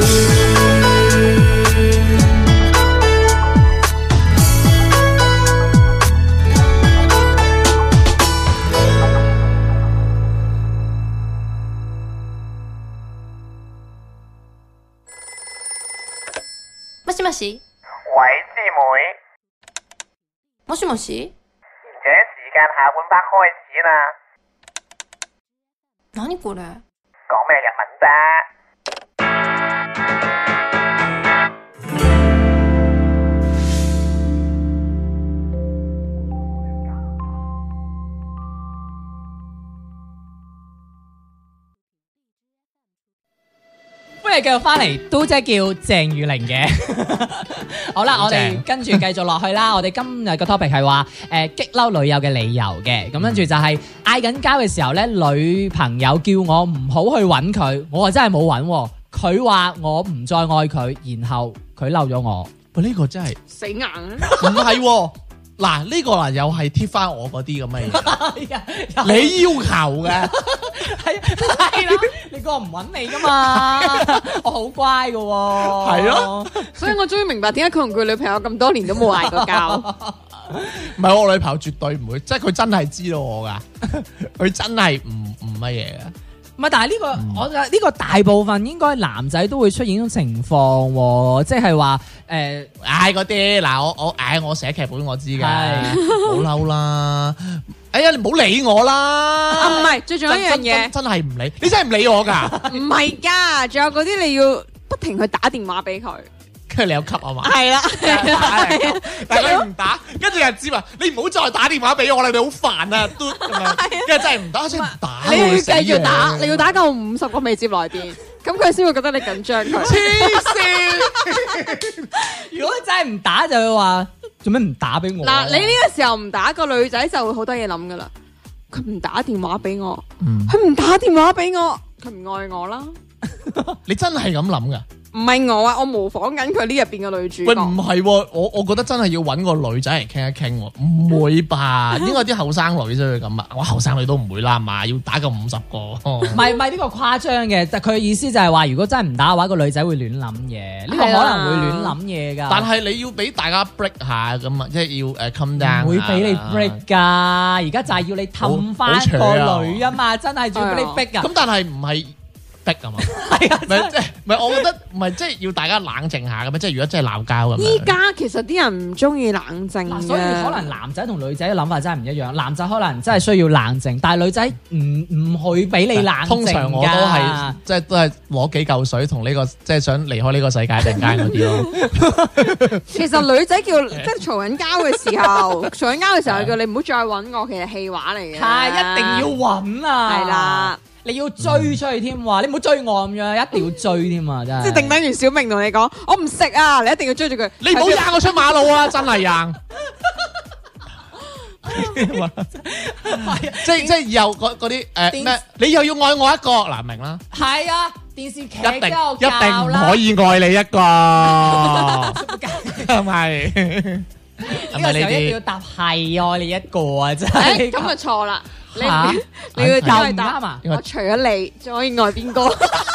もしもし。 喂，師妹。 もしもし。 賢者時間下半 part 開始啦。 何これ？ 講咩日文啫？ 歡哋繼續翻嚟，都即係叫鄭裕玲嘅。好啦，我哋跟住繼續落去啦。我哋今日個 topic 係話激嬲女友嘅理由嘅。咁跟住就係嗌緊交嘅時候咧，女朋友叫我唔好去揾佢，我話真係冇揾。佢話我唔再愛佢，然後佢嬲咗我。 喂，呢個真係死硬啊！ 唔係喎。嗱，呢個嗱又係貼翻我嗰啲咁嘅嘢，你要求嘅係啦，你個唔揾你噶嘛，我好乖噶喎， 係咯， 所以我終於明白點解佢同佢女朋友咁多年都冇嗌過交。 唔係我女朋友絕對唔會，即係佢真係知道我噶，佢真係唔乜嘢嘅。 唔係，但係呢個我呢個大部分應該男仔都會出現呢種情況喎，即係話嗌嗰啲嗱，我寫劇本我知㗎，好嬲啦！哎呀，你唔好理我啦！ 唔係，最重要一樣嘢， 真係唔理，你真係唔理我㗎？ 唔係㗎，仲有嗰啲你要不停去打電話俾佢。 跟住你有級啊嘛？ 係啦， 但係佢唔打，跟住又知話你唔好再打電話俾我啦，你好煩啊！嘟咁樣，跟住真係唔打，真係唔打。 你要繼續打，你要打夠50個未接來電，咁佢先會覺得你緊張佢。 黐線！ 如果真係唔打，就會話做咩唔打俾我？ 嗱，你呢個時候唔打，個女仔就會好多嘢諗噶啦。佢唔打電話俾我，佢唔打電話俾我，佢唔愛我啦。 你真係咁諗噶？ 唔係我啊，我模仿緊佢呢入邊嘅女主角。 喂，唔係喎，我覺得真係要揾個女仔嚟傾一傾喎，唔會吧？應該啲後生女先會咁啊，我後生女都唔會啦嘛，要打夠50個。 唔係呢個誇張嘅，但佢嘅意思就係話，如果真係唔打嘅話，個女仔會亂諗嘢，呢個可能會亂諗嘢㗎。 但係你要俾大家 break 下咁啊，即係要come down。 唔會俾你 break 㗎，而家就係要你氹翻個女啊嘛，真係仲要俾你逼㗎。 咁但係唔係。逼啊嘛，係啊，唔係，我覺得唔係即係要大家冷靜下咁樣，即係如果真係鬧交咁樣。 依家其實啲人唔中意冷靜嘅， 所以可能男仔同女仔嘅諗法真係唔一樣。男仔可能真係需要冷靜，但係女仔唔會俾你冷靜㗎。通常我都係即係都係攞幾嚿水同呢個即係想離開呢個世界突然間嗰啲咯。 其實女仔叫即係嘈緊交嘅時候，嘈緊交嘅時候叫你唔好再揾我，其實戲話嚟嘅。 係一定要揾啊！ 係啦。 你要追出去添喎，你唔好追我咁樣，一定要追添啊！真係。 即係定等完小明同你講，我唔食啊！你一定要追住佢， 你唔好掟我出馬路啊！真係贏。即係以後嗰啲咩？你又要愛我一個嗱，明啦。 係啊，電視劇一定唔可以愛你一個，係咪？ 呢個時候一定要答係愛你一個啊！真係咁就錯啦。你要答嘛？我除咗你，仲可以愛邊個？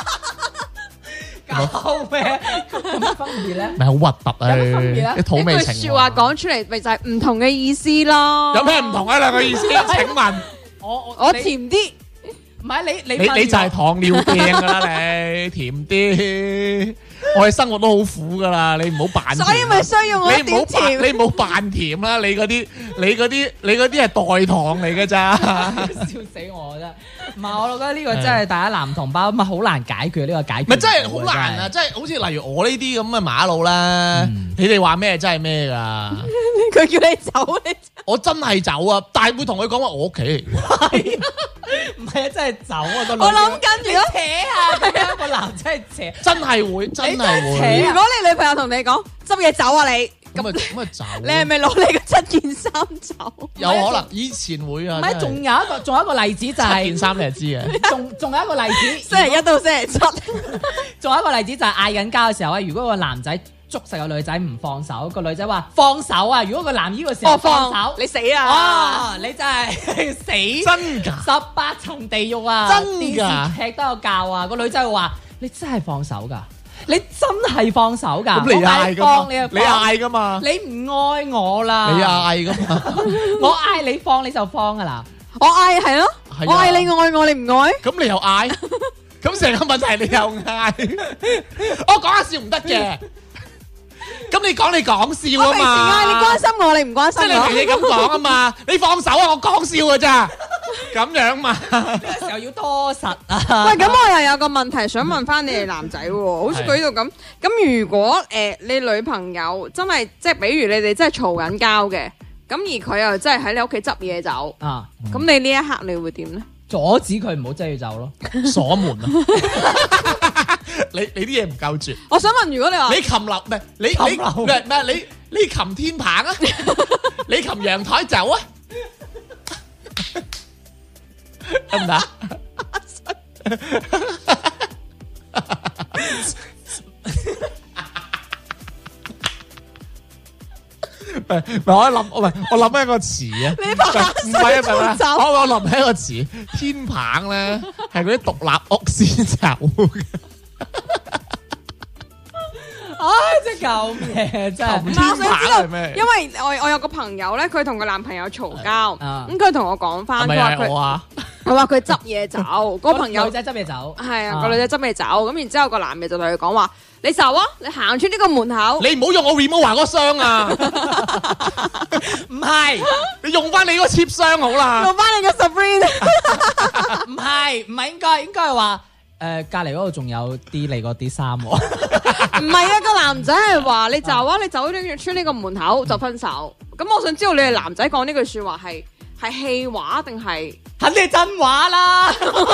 搞咩？有乜分別咧？ 咪好核突啊！啲土味情話。一句說話講出嚟，咪就係唔同嘅意思咯。 有咩唔同啊？兩個意思？請問我甜啲， 唔係你就係糖尿病噶啦，你甜啲。我哋生活都好苦噶啦，你唔好扮。 所以咪需要我一點甜。 你唔好扮甜啦，你嗰啲係代糖嚟噶咋？ 笑死我真。唔係，我覺得呢個真係大家男同胞咪好難解決呢個解決。 咪真係好難啊！即係好似例如我呢啲咁嘅馬路啦，你哋話咩真係咩噶？ 佢叫你走， 我真係走啊！但係會同佢講話我屋企嚟。 唔係啊，真係走啊個女。 我諗緊如果扯啊，咁樣個男真係扯， 真係會，真係會。 如果你女朋友同你講執嘢走啊，你咁啊走。 你係咪攞你個7件衫走？ 有可能以前會啊。 唔係，仲有一個例子就係 7件衫，你係知嘅。 仲有一個例子， 星期1到星期7。 仲有一個例子就係嗌緊交嘅時候啊，如果個男仔捉實個女仔唔放手，個女仔話放手啊！如果個男呢個時候放手， 你死啊！ 你真係死真㗎 ，18層地獄啊！ 真㗎， 電視劇都有教啊！個女仔會話：你真係放手㗎，你真係放手㗎！ 咁你嗌㗎嘛？你嗌㗎嘛？ 你唔愛我啦！ 你嗌㗎嘛？ 我嗌你放你就放㗎啦！ 我嗌係咯，我嗌你愛我，你唔愛？ 咁你又嗌？咁成個問題你又嗌？我講下笑唔得嘅。咁你講笑啊嘛？ 我平時嗌你關心我，你唔關心我。 即係你咁講啊嘛？你放手啊！我講笑㗎咋？咁樣嘛？ 呢個時候要多實啊！ 喂，咁我又有個問題想問翻你哋男仔喎，好似佢呢度咁。咁如果你女朋友真係即係，比如你哋真係嘈緊交嘅，咁而佢又真係喺你屋企執嘢走啊，咁你呢一刻你會點咧？ 阻止佢唔好擠住走咯， 鎖門啊！ 你啲嘢唔夠絕。 我想問，如果你話你擒樓唔係你擒天棚啊？你擒陽台走啊？得唔得？我諗一個詞啊！ 你爬唔係啊，我諗起一個詞，天棚咧係嗰啲獨立屋先走嘅。 唉，真係救命！真係。 我想知道，因為我有個朋友咧，佢同佢男朋友嘈交，咁佢同我講翻，佢話佢執嘢走，個朋友女仔執嘢走， 係啊，個女仔執嘢走，咁然之後個男嘅就同佢講話：你走啊，你行出呢個門口， 你唔好用我 remote 嗰箱啊！ 唔係， 你用翻你嗰個 cheap 箱好啦， 用翻你嘅 Sabrina。 唔係應該係話。隔離嗰度仲有啲你嗰啲衫喎， 唔係啊，個男仔係話你走啊，你走出呢個門口就分手。咁我想知道你哋男仔講呢句説話係氣話定係？ 肯定係真話啦！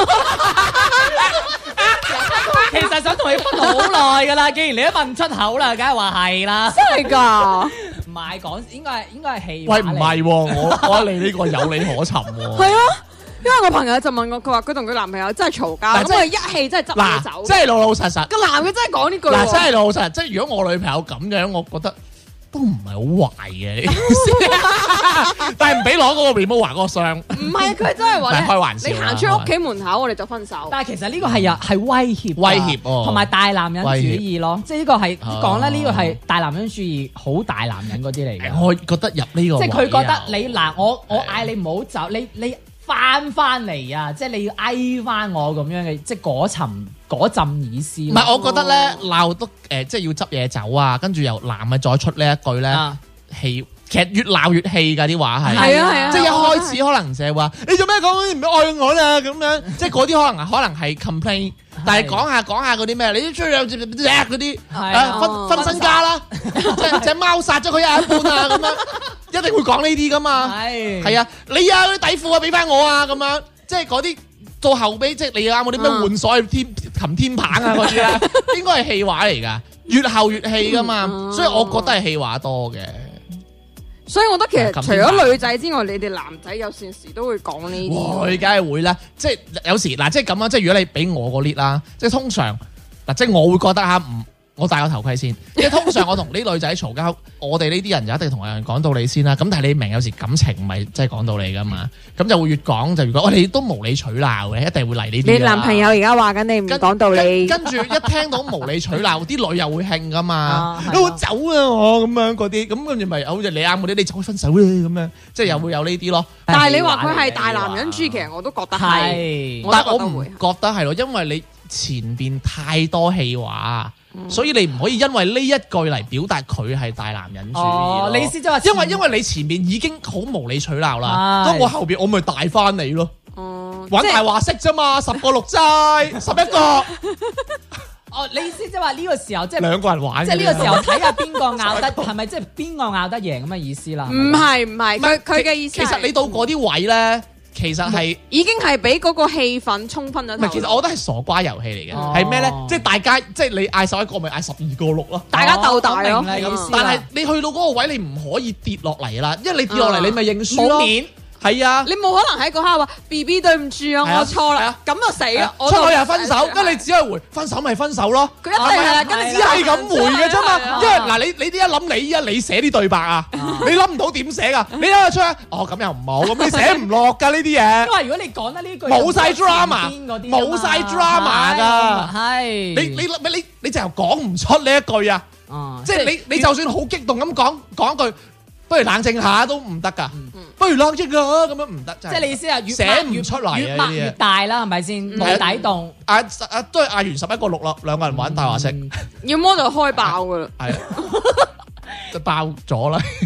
其實想同你分好耐㗎啦，既然你都問出口啦，梗係話係啦。 真係㗎？ 唔係講，應該係氣話。 喂，唔係喎，我覺得你呢個有理可尋喎。 係啊。因為我朋友就問我，佢話佢同佢男朋友真係嘈交，咁佢一氣真係執嘢走。 即係老老實實。個男嘅真係講呢句。 嗱，真係老老實實。即係如果我女朋友咁樣，我覺得都唔係好壞嘅。但係唔俾攞嗰個 remote 嗰個箱。唔係，佢真係話開玩笑。 你行出屋企門口，我哋就分手。 但係其實呢個係威脅同埋大男人主義咯。即係呢個係講咧，呢個係大男人主義，好大男人嗰啲嚟嘅。 我覺得入呢個。 即係佢覺得你嗱，我嗌你唔好走，你。翻嚟啊！即係你要嗌翻我咁樣嘅，即係嗰陣意思。唔係，我覺得咧鬧得即係要執嘢走啊，跟住由男嘅再出呢一句咧，氣其實越鬧越氣㗎啲話係。係啊，即係一開始可能就係話你做咩講唔愛我啦咁樣，即係嗰啲可能係 complain， 但係講下嗰啲咩，你都出去嗰啲分身家啦，即係隻貓殺咗佢一半啊咁樣。一定會講呢啲噶嘛，係啊，你啊啲底褲啊俾翻我啊咁樣，即係嗰啲到後尾即係你啱嗰啲咩換鎖擒天棚啊嗰啲咧，應該係氣話嚟噶，越後越氣噶嘛，所以我覺得係氣話多嘅。 所以我覺得其實除咗女仔之外，你哋男仔有陣時都會講呢啲。 我梗係會啦，即係有時嗱，即係咁啊，即係如果你俾我個 lead 啦，即係通常嗱，即係我會覺得嚇唔。我戴個頭盔先，即係通常我同啲女仔嘈交，我哋呢啲人就一定同人講道理先啦。咁但係你明有時感情唔係真係講道理噶嘛，咁就會越講就越講。我哋都無理取鬧嘅，一定會嚟呢啲。你男朋友而家話緊你唔講道理， 跟住一聽到無理取鬧，啲女又會興噶嘛。我走啊我咁樣嗰啲，咁跟住咪好似你啱嗰啲，你就可以分手啦咁樣，即係又會有呢啲咯。 但係你話佢係大男人主義，其實我都覺得係， 但係我唔覺得係咯，因為你前邊太多氣話。所以你唔可以因為呢一句嚟表達佢係大男人主義。 你意思即係話， 因為你前面已經好無理取鬧啦，咁我後邊我咪大翻你咯。玩大話式啫嘛，10個6齋，11個。 哦，你意思即係話呢個時候即係兩個人玩， 即係呢個時候睇下邊個拗得係咪即係邊個拗得贏咁嘅意思啦？ 唔係，佢嘅意思。 其實你到嗰啲位咧。其實係已經係俾嗰個氣氛沖昏咗頭。 其實我覺得係傻瓜遊戲嚟嘅，係咩咧？即係大家，即係你嗌11個，咪嗌12個6咯， 大家鬥大咯。 但係你去到嗰個位，你唔可以跌落嚟啦，因為你跌落嚟，你咪認輸咯。係啊， 你冇可能喺嗰刻話 BB 對唔住啊，我錯啦，咁就死啦。 出去又分手，跟住你只係回分手咪分手咯。 佢一定係啦，跟住只係咁回嘅啫嘛。因為嗱，你啲一諗你寫啲對白啊，你諗唔到點寫噶？你一出哦咁又唔好，咁你寫唔落噶呢啲嘢。 因為如果你講得呢句冇晒 drama，冇晒 drama 噶， 係你就講唔出呢一句啊。即係你就算好激動咁講句。不如冷靜下都唔得噶，不如冷靜啊咁樣唔得， 即係你意思係越寫唔出嚟， 越擘越大啦，係咪先？冇底洞。 都係嗌完11個6啦，兩個人玩大話式， 要麼就開爆噶啦， 係就爆咗啦。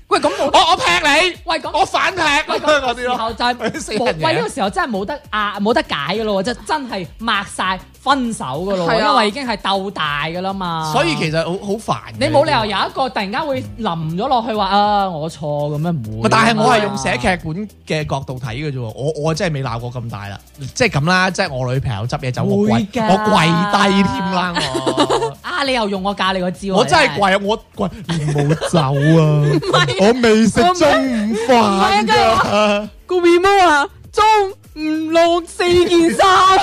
喂，咁我劈你， 喂咁我反劈嗰啲時候就係死人嘢喂呢個時候真係冇得解噶咯，即係真係抹晒分手噶咯，因為已經係鬥大噶啦嘛。 所以其實好煩。 你冇理由有一個突然間會淋咗落去話啊我錯咁樣唔會。 但係我係用寫劇本嘅角度睇嘅啫，我真係未鬧過咁大啦，即係咁啦，即係我女朋友執嘢走我跪低添啦我。 啊你又用我教你個招， 我真係跪，我跪你冇走啊！我未食中午飯㗎。 個 remote 啊，中唔落4件衫。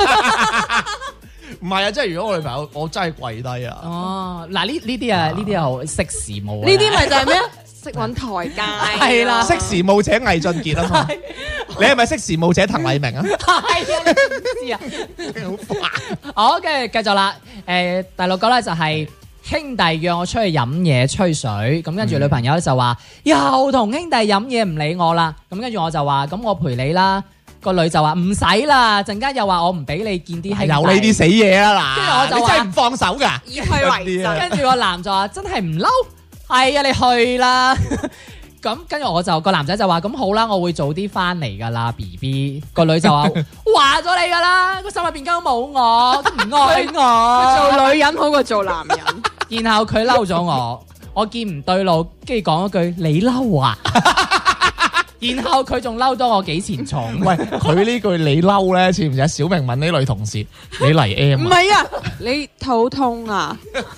唔係啊，即係如果我女朋友，我真係跪低啊。 哦，嗱呢啲好識時務。 呢啲咪就係咩？識揾台階。 係啦， 識時務者魏俊傑啊嘛。你係咪識時務者滕麗明啊？ 係啊，你知啊， 好煩。 好，跟住繼續啦。第六個咧就係兄弟約我出去飲嘢吹水，咁跟住女朋友就話又同兄弟飲嘢唔理我啦。咁跟住我就話咁我陪你啦。個女就話唔使啦，陣間又話我唔俾你見啲兄弟。 有呢啲死嘢啊嗱！ 跟住我就話你真係唔放手㗎， 以去為真。 跟住個男就話真係唔嬲，係啊你去啦。咁跟住我就個男仔就話咁好啦，我會早啲翻嚟噶啦 BB。個女就話話咗你噶啦，個心入邊根本冇我，都唔愛我。 做女人好過做男人。 然後佢嬲咗我見唔對路，跟住講一句你嬲啊。然後佢仲嬲多我幾錢重。 喂，佢呢句你嬲咧，似唔似小明問呢女同事你嚟 M？ 唔係啊，你肚痛啊？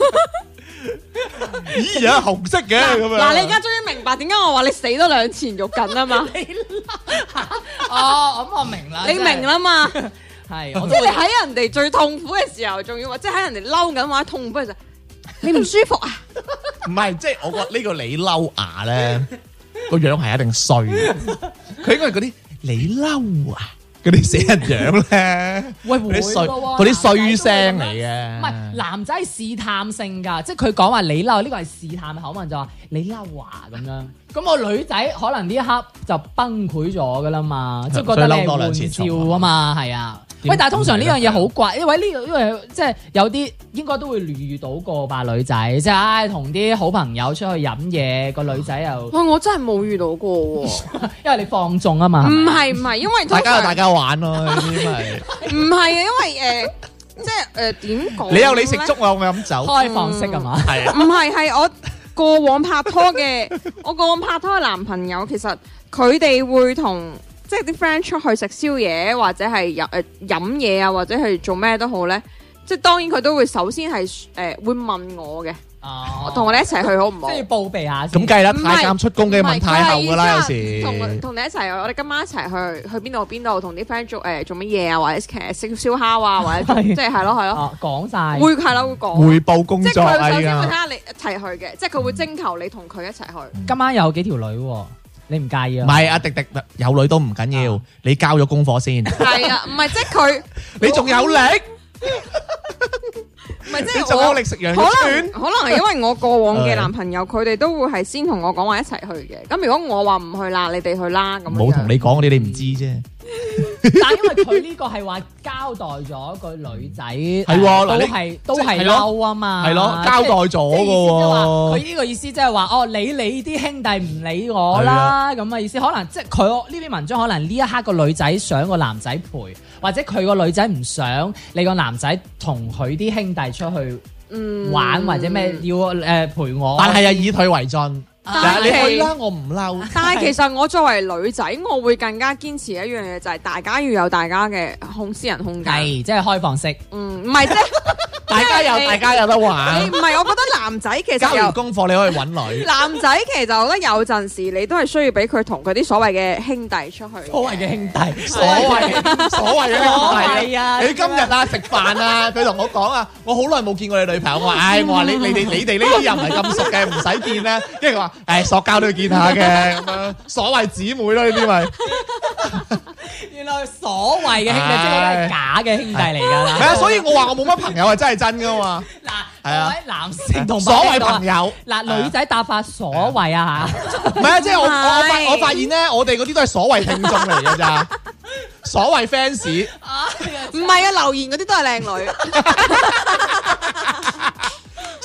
咦呀，紅色嘅咁樣。 嗱，你而家終於明白點解我話你死多兩錢肉緊啊嘛？ 哦，咁我明啦， 你明啦嘛？ 係， 即係你喺人哋最痛苦嘅時候，仲要話，即係喺人哋嬲緊或者痛苦嘅時候，你唔舒服啊？ 唔係，即係我覺得呢個你嬲牙咧。個樣係一定衰，佢應該係嗰啲你嬲啊嗰啲死人樣咧， 喂會嗰啲衰聲嚟嘅。 唔係男仔係試探性㗎，即係佢講話你嬲，呢個係試探口吻，就話你嬲啊咁樣。咁個女仔可能呢一刻就崩潰咗㗎啦嘛，即係覺得你係玩笑啊嘛，係啊。喂，但係通常呢樣嘢好怪，因為呢個即係有啲應該都會遇到過吧女仔，即係同啲好朋友出去飲嘢，個女仔又喂，我真係冇遇到過喎， 因為你放縱啊嘛。 唔係，因為大家有大家玩咯，呢啲咪唔係啊，因為即係點講？ 你有你食粥啊，我飲酒， 開放式係嘛？ 係啊， 唔係我過往拍拖嘅男朋友，其實佢哋會同。即係啲 friend 出去食宵夜或者係飲嘢啊，或者係做咩都好咧，即係當然佢都會首先係會問我嘅，同我哋一齊去好唔好？ 即係報備下先。 咁計啦，太監出宮嘅問太后㗎啦，有時同你一齊，我哋今晚一齊去邊度，同啲 friend 做乜嘢啊，或者食燒烤啊，或者即係係咯， 講晒會係啦，會講匯報工作啊， 即係佢首先會睇下你一齊去嘅，即係佢會徵求你同佢一齊去。 今晚有幾條女喎？你唔介意啊？ 唔係阿迪迪有女都唔緊要，你交咗功課先。 係啊，唔係即係佢， 你仲有力？ 唔係即係你仲有力食羊肉串？ 可能係因為我過往嘅男朋友，佢哋都會係先同我講話一齊去嘅。咁如果我話唔去啦，你哋去啦。咁冇同你講嗰啲，你唔知啫。 但係因為佢呢個係話交代咗個女仔，係都係嬲啊嘛， 係咯，交代咗嘅喎。 佢呢個意思即係話，哦，你啲兄弟唔理我啦，咁嘅意思。可能即係佢呢篇文章，可能呢一刻個女仔想個男仔陪，或者佢個女仔唔想你個男仔同佢啲兄弟出去玩或者咩要陪我， 但係又以退為進。 但你去啦，我唔嬲。 但係其實我作為女仔，我會更加堅持一樣嘢，就係大家要有大家嘅私人空間， 係即係開放式。 唔係即係大家有得玩。 唔係，我覺得男仔其實交完功課你可以揾女。 男仔其實我覺得有陣時你都係需要俾佢同佢啲所謂嘅兄弟出去。 所謂嘅兄弟， 所謂嘅兄弟啊！ 你今日啊食飯啊，佢同我講啊，我好耐冇見過你女朋友。我話你哋呢啲又唔係咁熟嘅，唔使見啦。跟住佢話。塑膠都要見下嘅咁樣，所謂姊妹咯，呢啲咪原來所謂嘅兄弟即係都係假嘅兄弟嚟㗎啦。 係啊，所以我話我冇乜朋友係真係真㗎嘛。嗱， 各位男性同所謂朋友， 嗱女仔答法所謂啊嚇， 唔係啊，即係我發現咧，我哋嗰啲都係所謂聽眾嚟㗎咋，所謂 fans， 唔係啊，留言嗰啲都係靚女。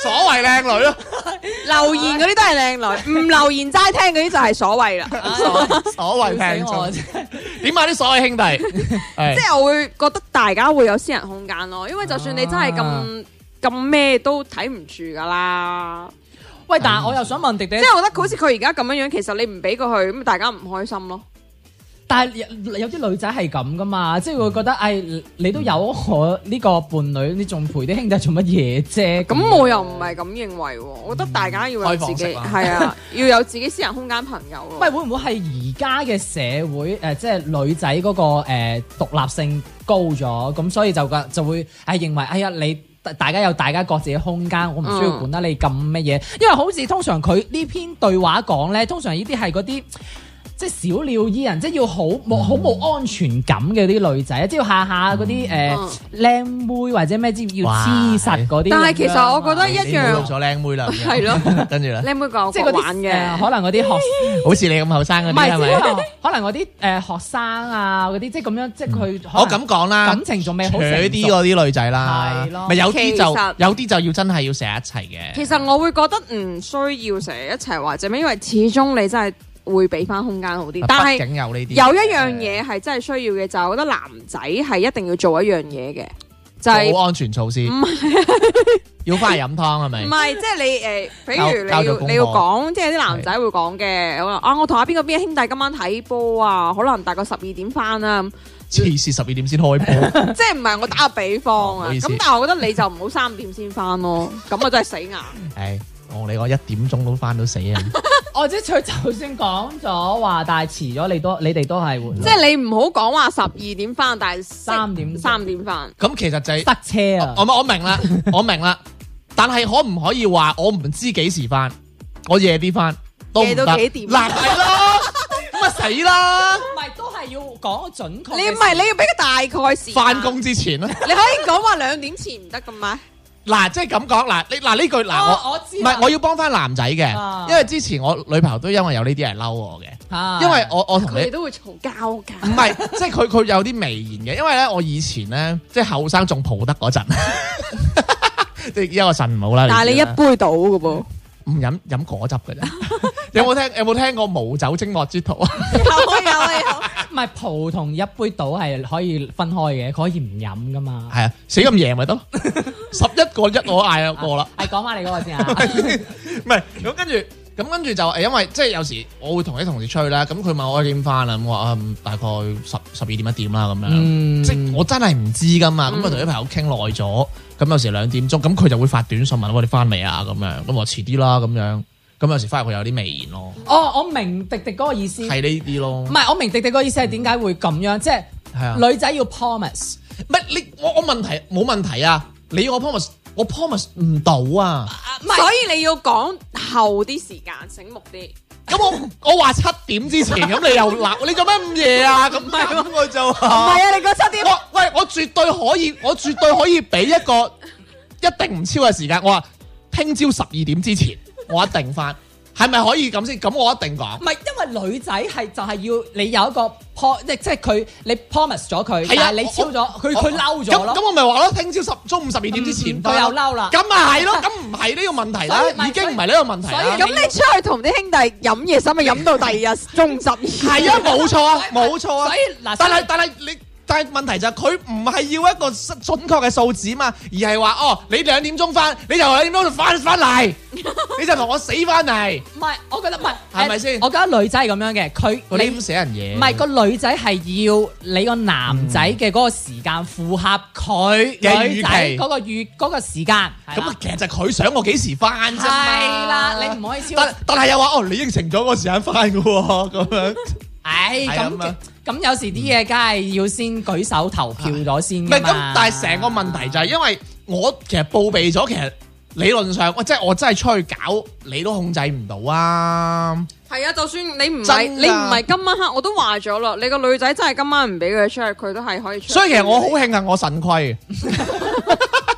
所謂靚女咯， 留言嗰啲都係靚女，唔留言齋聽嗰啲就係所謂啦。 所謂聽眾點解啲所謂兄弟？ 即係我會覺得大家會有私人空間咯，因為就算你真係咁咩都睇唔住噶啦。 喂，但係我又想問迪迪， 即係我覺得好似佢而家咁樣樣，其實你唔俾過佢，咁大家唔開心咯。 但係有啲女仔係咁噶嘛，即係會覺得你都有我呢個伴侶，你仲陪啲兄弟做乜嘢啫？ 咁我又唔係咁認為喎，我覺得大家要有自己係啊，要有自己私人空間朋友咯。 喂，會唔會係而家嘅社會即係女仔嗰個獨立性高咗，咁所以就會認為你大家有大家各自嘅空間，我唔需要管得你咁乜嘢，因為好似通常佢呢篇對話講咧，通常呢啲係嗰啲。即係小鳥依人，即係要好冇安全感嘅啲女仔，即係下下嗰啲靚妹或者咩之要黐實嗰啲。但係其實我覺得一樣。 咗靚妹啦， 係咯， 跟住咧， 靚妹講即係嗰玩嘅， 可能嗰啲學， 好似你咁後生嗰啲係咪？ 可能嗰啲學生啊嗰啲，即係咁樣，即係佢。 我咁講啦， 感情仲未好成熟。 啲嗰啲女仔啦， 係咯， 咪有啲就要真係要成日一齊嘅。 其實我會覺得唔需要成日一齊或者咩，因為始終你真係。會俾翻空間好啲，但係有一樣嘢係真係需要嘅，就係我覺得男仔係一定要做一樣嘢嘅，就係保安全措施。唔係要翻嚟飲湯係咪？ 唔係，即係你譬如你要講，即係啲男仔會講嘅，我同阿邊個兄弟今晚睇波啊，可能大概12點翻啦。 黐線12點先開波， 即係唔係我打個比方啊？咁但係我覺得你就唔好3點先翻咯，咁我真係死硬。 係我同你講1點鐘都翻到死啊！ 哦，即係佢就算講咗話，但係遲咗你哋都係會。 即係你唔好講話12點翻，但係 3點翻。 咁其實就係塞車啊！ 我明啦，我明啦。但係可唔可以話我唔知幾時翻，我夜啲翻都唔得。 夜到幾點？ 嗱係咯，咁啊死啦！ 唔係都係要講準確。 你唔係你要俾個大概時間。 翻工之前啦。 你可以講話2點前唔得㗎嘛？ 嗱，即係咁講，嗱呢句我知， 唔係我要幫翻男仔嘅，因為之前我女朋友都因為有呢啲係嬲我嘅，因為我同你都會嘈交㗎。 唔係，即係佢有啲微言嘅，因為咧我以前咧即係後生仲蒲得嗰陣，即係一個腎唔好啦。 但係你一杯倒嘅噃， 唔飲果汁嘅啫。有冇聽過無酒精莫之徒啊？ 有。 唔係葡同一杯倒係可以分開嘅，可以唔飲噶嘛。 係啊，死咁贏咪得咯，11個1我嗌一個啦。 係講翻你嗰個先啊。 唔係咁跟住就因為即係有時我會同啲同事出去啦，咁佢問我幾點翻啦，咁我話大概12點1點啦咁樣。即係我真係唔知噶嘛，咁我同啲朋友傾耐咗，咁有時2點鐘，咁佢就會發短信問我哋翻未啊咁樣，咁我遲啲啦咁樣。咁有時翻入去有啲微言咯。 哦，我明迪迪嗰個意思。 係呢啲咯。唔係，我明迪迪嗰個意思係點解會咁樣？即係女仔要 promise。 唔係我問題冇問題啊！你要我 promise，我 promise 唔到啊！ 所以你要講後啲時間，醒目啲。 咁我話7點之前，咁你又鬧你做咩咁夜啊？咁我就唔係啊！你講7點。 我絕對可以俾一個一定唔超嘅時間。我話聽朝12點之前。我一定翻，係咪可以咁先？咁我一定講。 唔係，因為女仔係就係要你有一個即係佢你 promise 咗佢，但係你超咗，佢嬲咗咯。 咁我咪話咯，聽朝中午12點之前翻， 佢又嬲啦。 咁咪係咯，咁唔係呢個問題啦，已經唔係呢個問題啦。 咁你出去同啲兄弟飲嘢，使咪飲到第二日中午12點？ 係啊，冇錯啊，冇錯啊。 所以嗱， 但係問題就係佢唔係要一個準確嘅數字嘛，而係話你2點鐘翻，你就2點鐘就翻嚟，你就同我死翻嚟。 唔係，我覺得唔係， 係咪先？ 我覺得女仔係咁樣嘅，佢你咁寫人嘢。 唔係個女仔係要你個男仔嘅嗰個時間符合佢女仔嗰個時間。 咁其實就佢想我幾時翻啫嘛。 係啦，你唔可以超。 但係又話你應承咗個時間翻㗎喎，咁樣。 咁有時啲嘢梗係要先舉手投票咗先㗎嘛。唔係咁， 但係成個問題就係因為我其實報備咗，其實理論上即係我真係出去搞，你都控制唔到啊。 係啊，就算你唔係今晚黑，我都話咗啦。你個女仔真係今晚唔俾佢出去，佢都係可以出去。 所以其實我好慶幸我腎虧。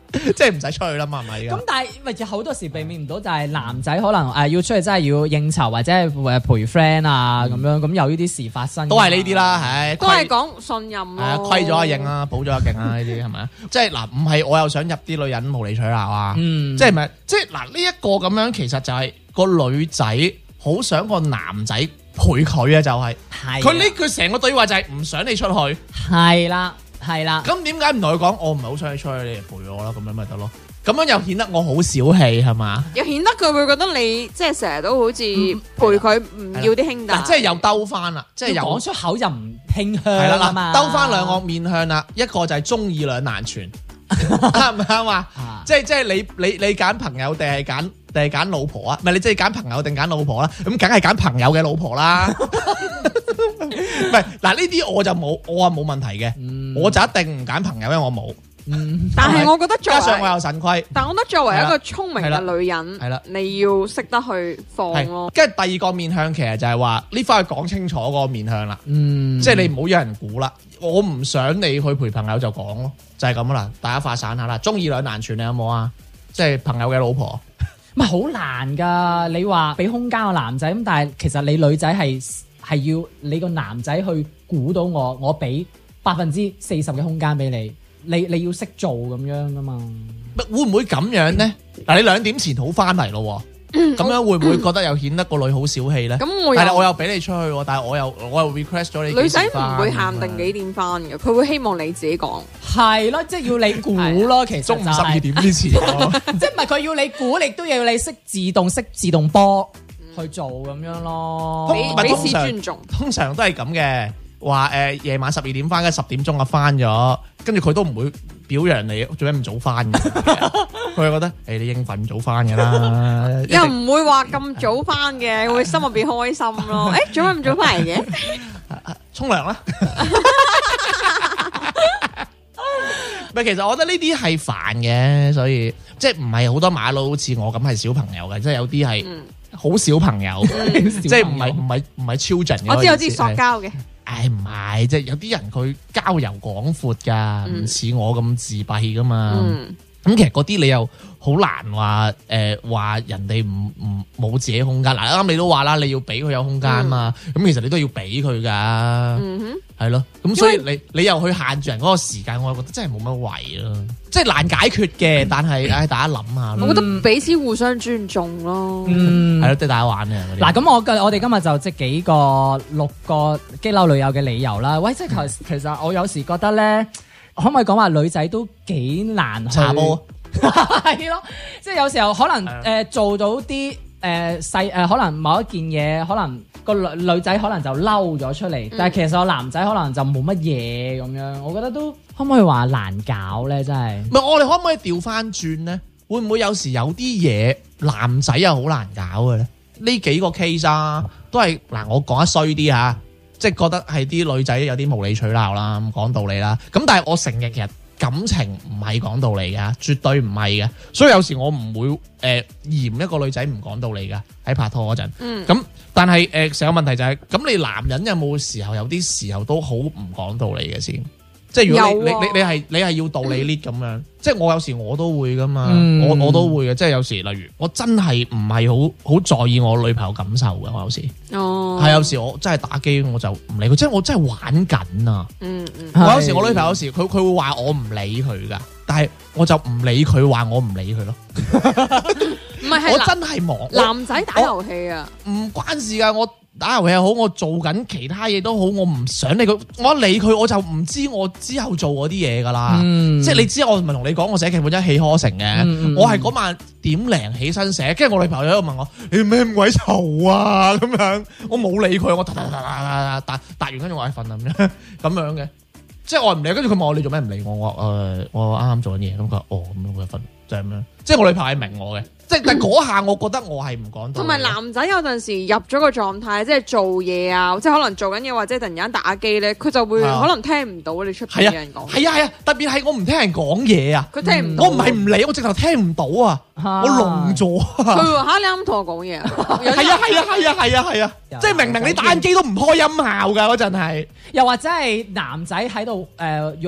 即係唔使出去啦嘛，係咪？ 咁但係咪有好多時避免唔到就係男仔可能要出去真係要應酬或者係陪 friend 啊咁樣，咁有呢啲事發生， 都係呢啲啦，係都係講信任咯。 虧咗阿應啊，補咗阿勁啊，呢啲係咪啊？即係嗱，唔係我又想入啲女人無理取鬧啊，即係咪？即係嗱呢一個咁樣，其實就係個女仔好想個男仔陪佢啊，就係佢呢句成個對話就係唔想你出去， 係啦。係啦， 咁點解唔同佢講？我唔係好想你出去，你嚟陪我啦，咁樣咪得咯。咁樣又顯得我好小氣係嘛？ 又顯得佢會覺得你即係成日都好似陪佢唔要啲兄弟。 即係又兜翻啦，即係又講出口就唔傾向係啦嘛。 兜翻兩個面向啦，一個就係中意兩難全，啱唔啱啊？即係你揀朋友定係揀老婆啊？唔係你即係揀朋友定揀老婆啦？咁梗係揀朋友嘅老婆啦。唔係嗱，呢啲我就冇，我話冇問題嘅，我就一定唔揀朋友，因為我冇。 但係我覺得加上我有腎虧， 但我覺得作為一個聰明嘅女人， 係啦， 你要識得去放咯。 跟住第二個面向其實就係話呢翻去講清楚嗰個面向啦，即係你唔好有人估啦。我唔想你去陪朋友就講咯，就係咁啦。大家發散下啦，中意兩難全你有冇啊？即係朋友嘅老婆， 唔係好難噶。你話俾空間個男仔咁，但係其實你女仔係要你個男仔去估到我俾40%嘅空間俾你。你要識做咁樣噶嘛？ 會唔會咁樣咧？嗱，你2點前好翻嚟咯，咁樣會唔會覺得又顯得個女好小氣咧？ 咁係啦，我又俾你出去，但係我又 request 咗你。 女仔唔會限定幾點翻嘅，佢會希望你自己講。 係咯，即係要你估咯。其實中午12點之前， 即係唔係佢要你估，亦都要你識自動波去做咁樣咯。 彼此尊重。 通常都係咁嘅。話夜晚12點翻，跟住10點鐘啊翻咗，跟住佢都唔會表揚你做咩咁早翻嘅，佢係覺得你應份早翻嘅啦， 又唔會話咁早翻嘅，會心入邊開心咯。做咩咁早翻嚟嘅？ 沖涼啦。唔係，其實我覺得呢啲係煩嘅，所以即係唔係好多馬佬好似我咁係小朋友嘅，即係有啲係好小朋友，即係唔係 children 嘅。 我知塑膠嘅。 唔係，即係有啲人佢交遊廣闊㗎，唔似我咁自閉㗎嘛。咁其實嗰啲你又好難話話人哋唔冇自己空間。嗱，啱你都話啦，你要俾佢有空間嘛。咁其實你都要俾佢㗎，係咯。咁所以你又去限住人嗰個時間，我覺得真係冇乜謂咯。即係難解決嘅，但係大家諗下。 我覺得彼此互相尊重咯。 係咯，即係大家玩嘅。 嗱，咁我哋今日就即係6個激嬲女友嘅理由啦。喂，即係其實我有時覺得咧。可唔可以講話女仔都幾難去查波？ 係咯，即係有時候可能做到啲可能某一件嘢，可能個女仔可能就嬲咗出嚟，但係其實個男仔可能就冇乜嘢咁樣。我覺得都可唔可以話難搞咧？真係唔係，我哋可唔可以調翻轉咧？會唔會有時有啲嘢男仔又好難搞嘅咧？呢幾個 case 啊，都係嗱，我講得衰啲嚇。即係覺得係啲女仔有啲無理取鬧啦，講道理啦。咁但係我承認其實感情唔係講道理嘅，絕對唔係嘅。所以有時我唔會嫌一個女仔唔講道理嘅喺拍拖嗰陣。咁但係成個問題就係咁，你男人有冇時候有啲時候都好唔講道理嘅先？即係如果你係要道理 lead 咁樣，即係我有時我都會噶嘛，我都會嘅。即係有時例如我真係唔係好在意我女朋友感受嘅，我有時係有時我真係打機我就唔理佢，即係我真係玩緊啊。我有時我女朋友有時佢會話我唔理佢噶，但係我就唔理佢話我唔理佢咯。 唔係， 我真係忙。 男仔打遊戲啊， 唔關事噶，我打遊戲又好，我做緊其他嘢都好，我唔想理佢，我一理佢我就唔知我之後做嗰啲嘢噶啦。即係你知我唔係同你講我寫劇本一氣呵成嘅，我係嗰晚0點起身寫，跟住我女朋友喺度問我你咩咁鬼嘈啊咁樣，我冇理佢，我答完跟住我係瞓咁樣嘅，即係我唔理，跟住佢問我你做咩唔理我，我啱啱做緊嘢，咁佢話咁樣佢瞓就係咁樣，即係我女朋友係明我嘅。即係但嗰下，我覺得我係唔講到。 同埋男仔有陣時入咗個狀態，即係做嘢啊，即係可能做緊嘢或者突然間打機咧，佢就會可能聽唔到你出邊嘅人講。 係啊，特別係我唔聽人講嘢啊， 佢聽唔到。 我唔係唔理，我直頭聽唔到啊，我聾咗。 佢話你啱同我講嘢啊？ 係啊，即係明明你打緊機都唔開音效㗎嗰陣係。 又或者係男仔喺度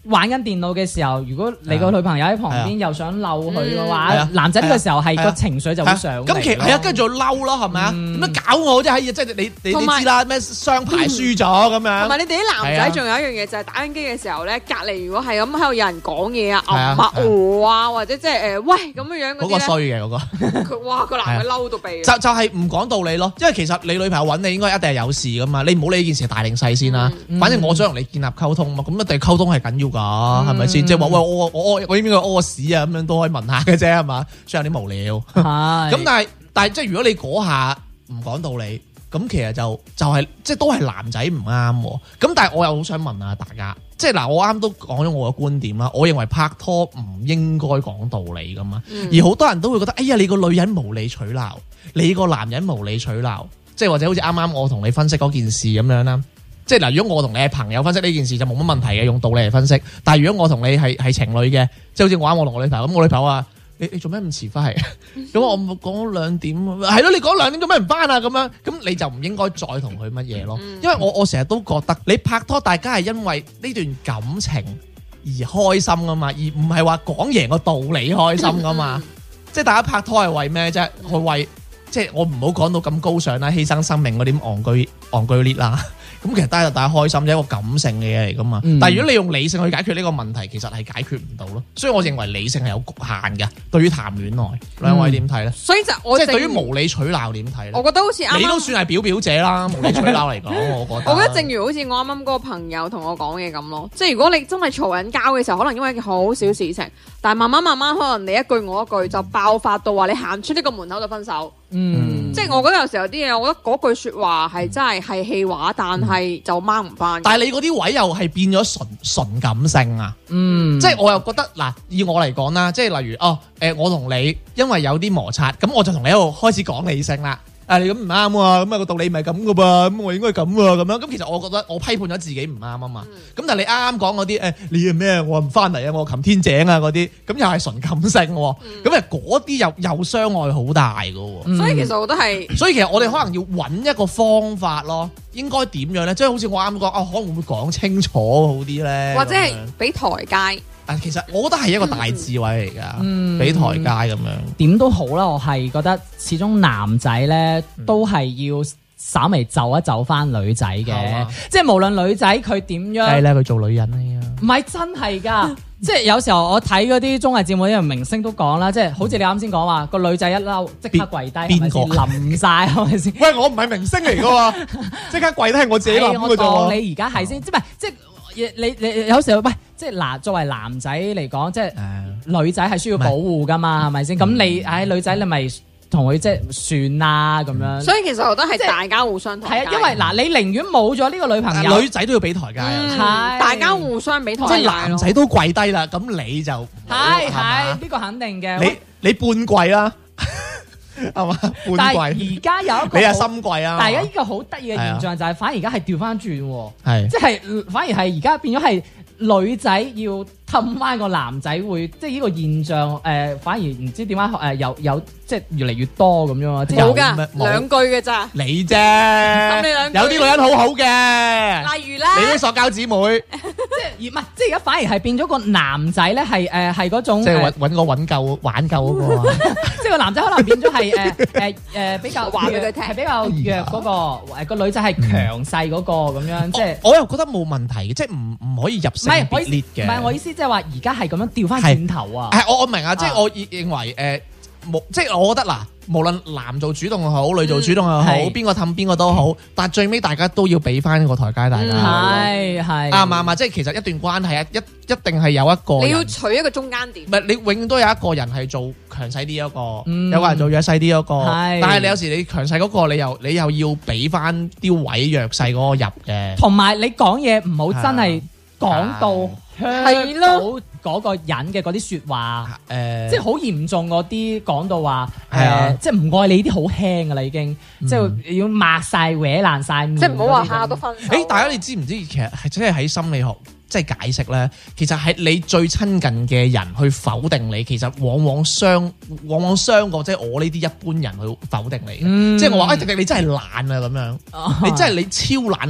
玩緊電腦嘅時候，如果你個女朋友喺旁邊又想嬲佢嘅話，男仔呢個時候係個情緒就會上嚟。 咁其實係啊，跟住就嬲咯，係咪啊？點樣搞我啫？即係你知啦，咩雙排輸咗咁樣。 同埋你哋啲男仔仲有一樣嘢就係打緊機嘅時候咧，隔離如果係咁喺度有人講嘢啊、或者即係喂咁樣嗰啲咧， 嗰個衰嘅嗰個。 佢哇個男嘅嬲到痹。 就係唔講道理咯，因為其實你女朋友揾你應該一定係有事噶嘛，你唔好理呢件事係大定細先啦。反正我想同你建立溝通嘛，咁一定溝通係緊要㗎，係咪先？即係話喂我應該屙屎啊咁樣都可以問下嘅啫，係嘛？雖然有啲無聊。咁但係即係如果你嗰下唔講道理，咁其實就係即係都係男仔唔啱。咁但係我又好想問下大家，即係嗱，我啱都講咗我嘅觀點啦。我認為拍拖唔應該講道理㗎嘛，而好多人都會覺得，哎呀，你個女人無理取鬧，你個男人無理取鬧，即係或者好似啱啱我同你分析嗰件事咁樣啦。即係嗱，如果我同你係朋友分析呢件事就冇乜問題嘅，用道理嚟分析。但係如果我同你係情侶嘅，即係好似我同我女朋友咁，我女朋友話你做咩咁遲翻嚟？咁我講2點，係咯，你講2點做咩唔翻啊？咁樣咁你就唔應該再同佢乜嘢咯。因為我成日都覺得你拍拖，大家係因為呢段感情而開心噶嘛，而唔係話講贏個道理開心噶嘛。即係大家拍拖係為咩啫？去為即係我唔好講到咁高尚啦，犧牲生命嗰啲戇居烈啦。咁其實大家開心，係一個感性嘅嘢嚟噶嘛。但係如果你用理性去解決呢個問題，其實係解決唔到咯。所以我認為理性係有局限嘅。對於談戀愛，兩位點睇咧？ 所以就我即係對於無理取鬧點睇咧？ 我覺得好似啱你都算係表表者啦，無理取鬧嚟講，我覺得。 我覺得正如好似我啱啱嗰個朋友同我講嘅咁咯，即係如果你真係嘈緊交嘅時候，可能因為一件好小事情，但係慢慢可能你一句我一句就爆發到話你行出呢個門口就分手。即係我覺得有時候有啲嘢，我覺得嗰句說話係真係氣話，但係就掹唔翻。 但係你嗰啲位又係變咗純感性啊！即係我又覺得嗱，以我嚟講啦，即係例如我同你因為有啲摩擦，咁我就同你喺度開始講理性啦。你咁唔啱喎，咁啊個道理唔係咁噶噃，咁我應該咁喎，咁樣咁其實我覺得我批判咗自己唔啱啊嘛。咁但係你啱啱講嗰啲你係咩？我唔翻嚟啊，我擒天井啊嗰啲，咁又係純感性喎。咁嗰啲又傷害好大噶喎。 所以其實我都係， 所以其實我哋可能要揾一個方法咯，應該點樣咧？即係好似我啱講可能會講清楚好啲咧， 或者係俾台階。 其實我覺得係一個大智慧嚟㗎，俾台階咁樣。 點都好啦，我係覺得始終男仔咧都係要稍微就一就翻女仔嘅，即係無論女仔佢點樣， 係咧佢做女人啊， 唔係真係㗎。即係有時候我睇嗰啲綜藝節目，啲明星都講啦，即係好似你啱先講話個女仔一嬲即刻跪低，邊個冧晒係咪先？ 喂，我唔係明星嚟㗎喎，即刻跪低係我自己諗㗎啫喎。 你而家係先，即係你有時候喂，即係嗱，作為男仔嚟講，即係女仔係需要保護噶嘛，係咪先？咁你女仔你咪同佢即係算啦咁樣。所以其實我覺得係大家互相台階。 係啊，因為嗱，你寧願冇咗呢個女朋友， 女仔都要俾台階啊。 大家互相俾台階。 即係男仔都跪低啦，咁你就係呢個肯定嘅。 你半跪啦。係嘛？ 但係而家有一個你係深櫃啊！ 但係而家呢個好得意嘅現象就係，反而而家係調翻轉， 係即係反而係而家變咗係女仔要氹翻個男仔會，即係呢個現象反而唔知點解有即係越嚟越多咁樣啊！ 冇㗎，兩句嘅咋？ 你啫，有啲女人好好嘅， 例如咧， 你啲塑膠姊妹， 即係而家反而係變咗個男仔咧，係嗰種即係揾個挽救嗰個， 即係個男仔可能變咗係比較話俾佢聽，係比較弱嗰個，個女仔係強勢嗰個咁樣，即係我又覺得冇問題嘅，即係唔可以入性別列嘅。 唔係我意思，即係話而家係咁樣調翻轉頭啊！ 係我明啊，即係我認為即係我覺得嗱，無論男做主動又好，女做主動又好，邊個氹邊個都好，但係最尾大家都要俾翻個台階大家。 係啱唔啱？即係其實一段關係一定係有一個你要取一個中間點。 唔係你永遠都有一個人係做強勢啲一個，有個人做弱勢啲一個。但係你有時你強勢嗰個，你又要俾翻啲位弱勢嗰個入嘅。 同埋你講嘢唔好真係講到係咯。 嗰個人嘅嗰啲説話，即係好嚴重嗰啲講到話，即係唔愛你啲好輕噶啦已經，即係要抹晒搲爛晒面， 即係唔好話下都分手。 大家你知唔知其實係即係喺心理學即係解釋咧，其實係你最親近嘅人去否定你，其實往往傷過即係我呢啲一般人去否定你。即係我話迪迪你真係懶啊咁樣，你真係你超懶，你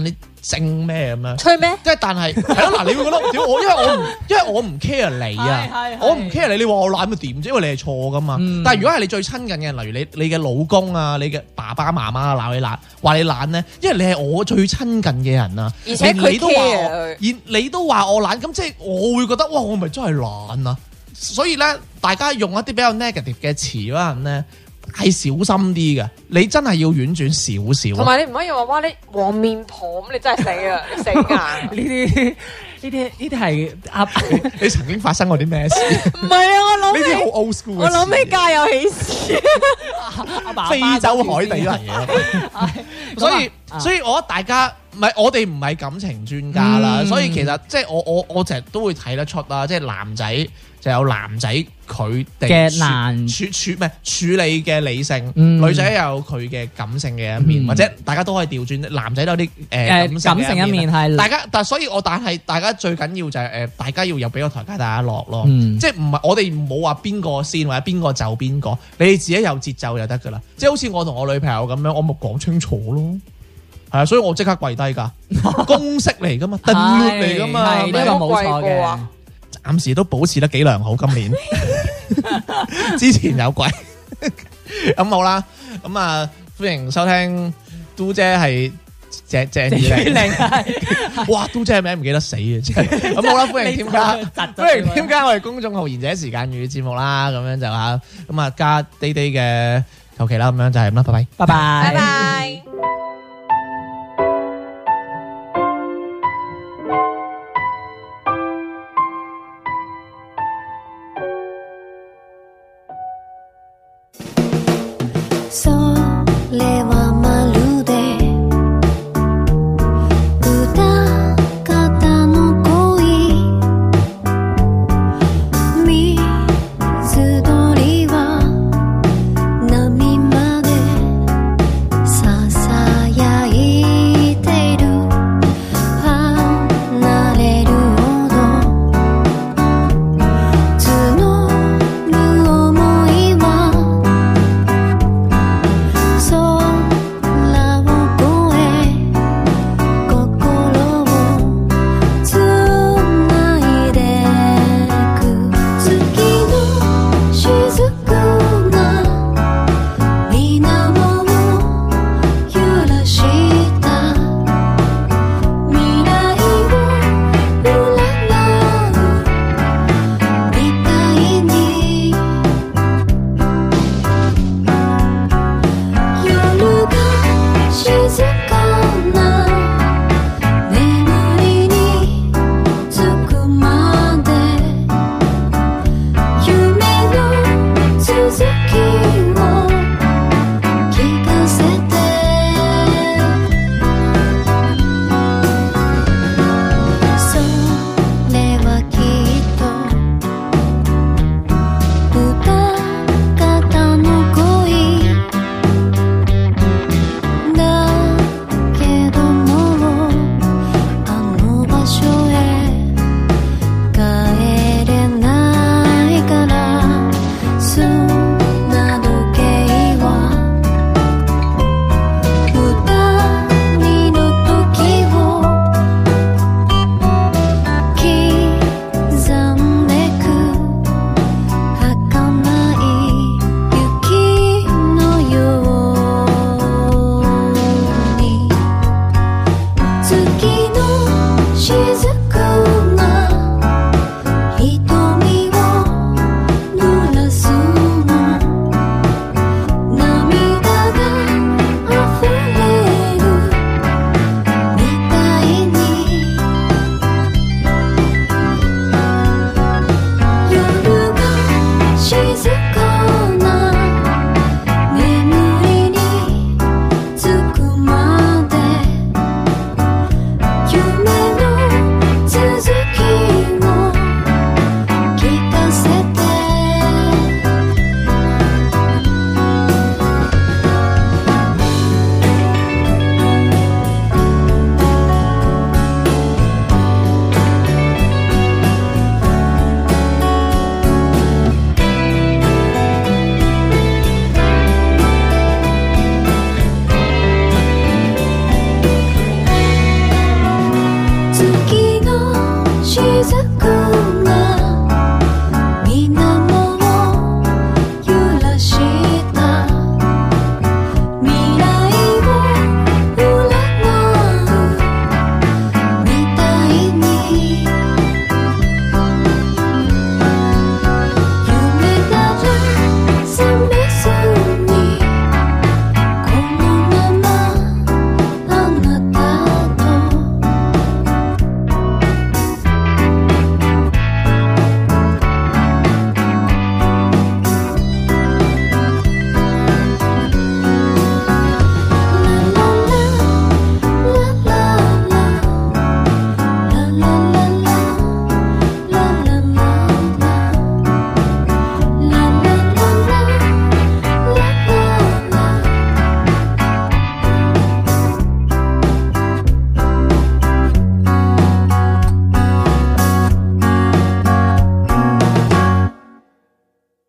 精咩咁樣？ 吹咩？ 即係但係係咯嗱，你會覺得屌我，因為我唔 care 你啊，我唔 care 你，你話我懶咪點啫？因為你係錯噶嘛。但係如果係你最親近嘅人，例如你嘅老公啊，你嘅爸爸媽媽鬧你懶，話你懶咧，因為你係我最親近嘅人啊， 而且佢 care 佢， 你都話我懶，咁即係我會覺得哇，我咪真係懶啊！所以咧，大家用一啲比較 negative 嘅詞嗰陣咧，係小心啲嘅。你真係要婉轉少少。 同埋你唔可以話哇你黃面婆咁，你真係死啊！你死硬。 呢啲係你曾經發生過啲咩事？ 唔係啊，我諗呢啲好 old school 嘅事。 我諗起家有喜事。 非洲海地嚟嘅。所以我覺得大家我哋唔係感情專家啦，所以其實即係我成日都會睇得出啦，即係男仔就有男仔佢哋嘅難處理嘅理性，女仔有佢嘅感性嘅一面，或者大家都可以調轉，男仔都有啲感性一面係大家，但係大家最緊要就係大家要有俾個台階大家落咯，即係唔係我哋唔好話邊個先或者邊個就邊個，你哋自己有節奏就得噶啦，即係好似我同我女朋友咁樣，我咪講清楚咯。係啊，所以我即刻跪低噶，公式嚟噶嘛，定律嚟噶嘛， 呢個冇錯嘅。 暫時都保持得幾良好，今年之前有跪。咁好啦，咁啊歡迎收聽嘟姐係鄭裕玲，哇嘟姐名唔記得死啊！真係咁好啦，歡迎添加我哋公眾號賢者時間粵語節目啦，咁樣就咁啊加滴滴嘅求其啦，咁樣就係咁啦，拜拜， 拜拜， 拜拜。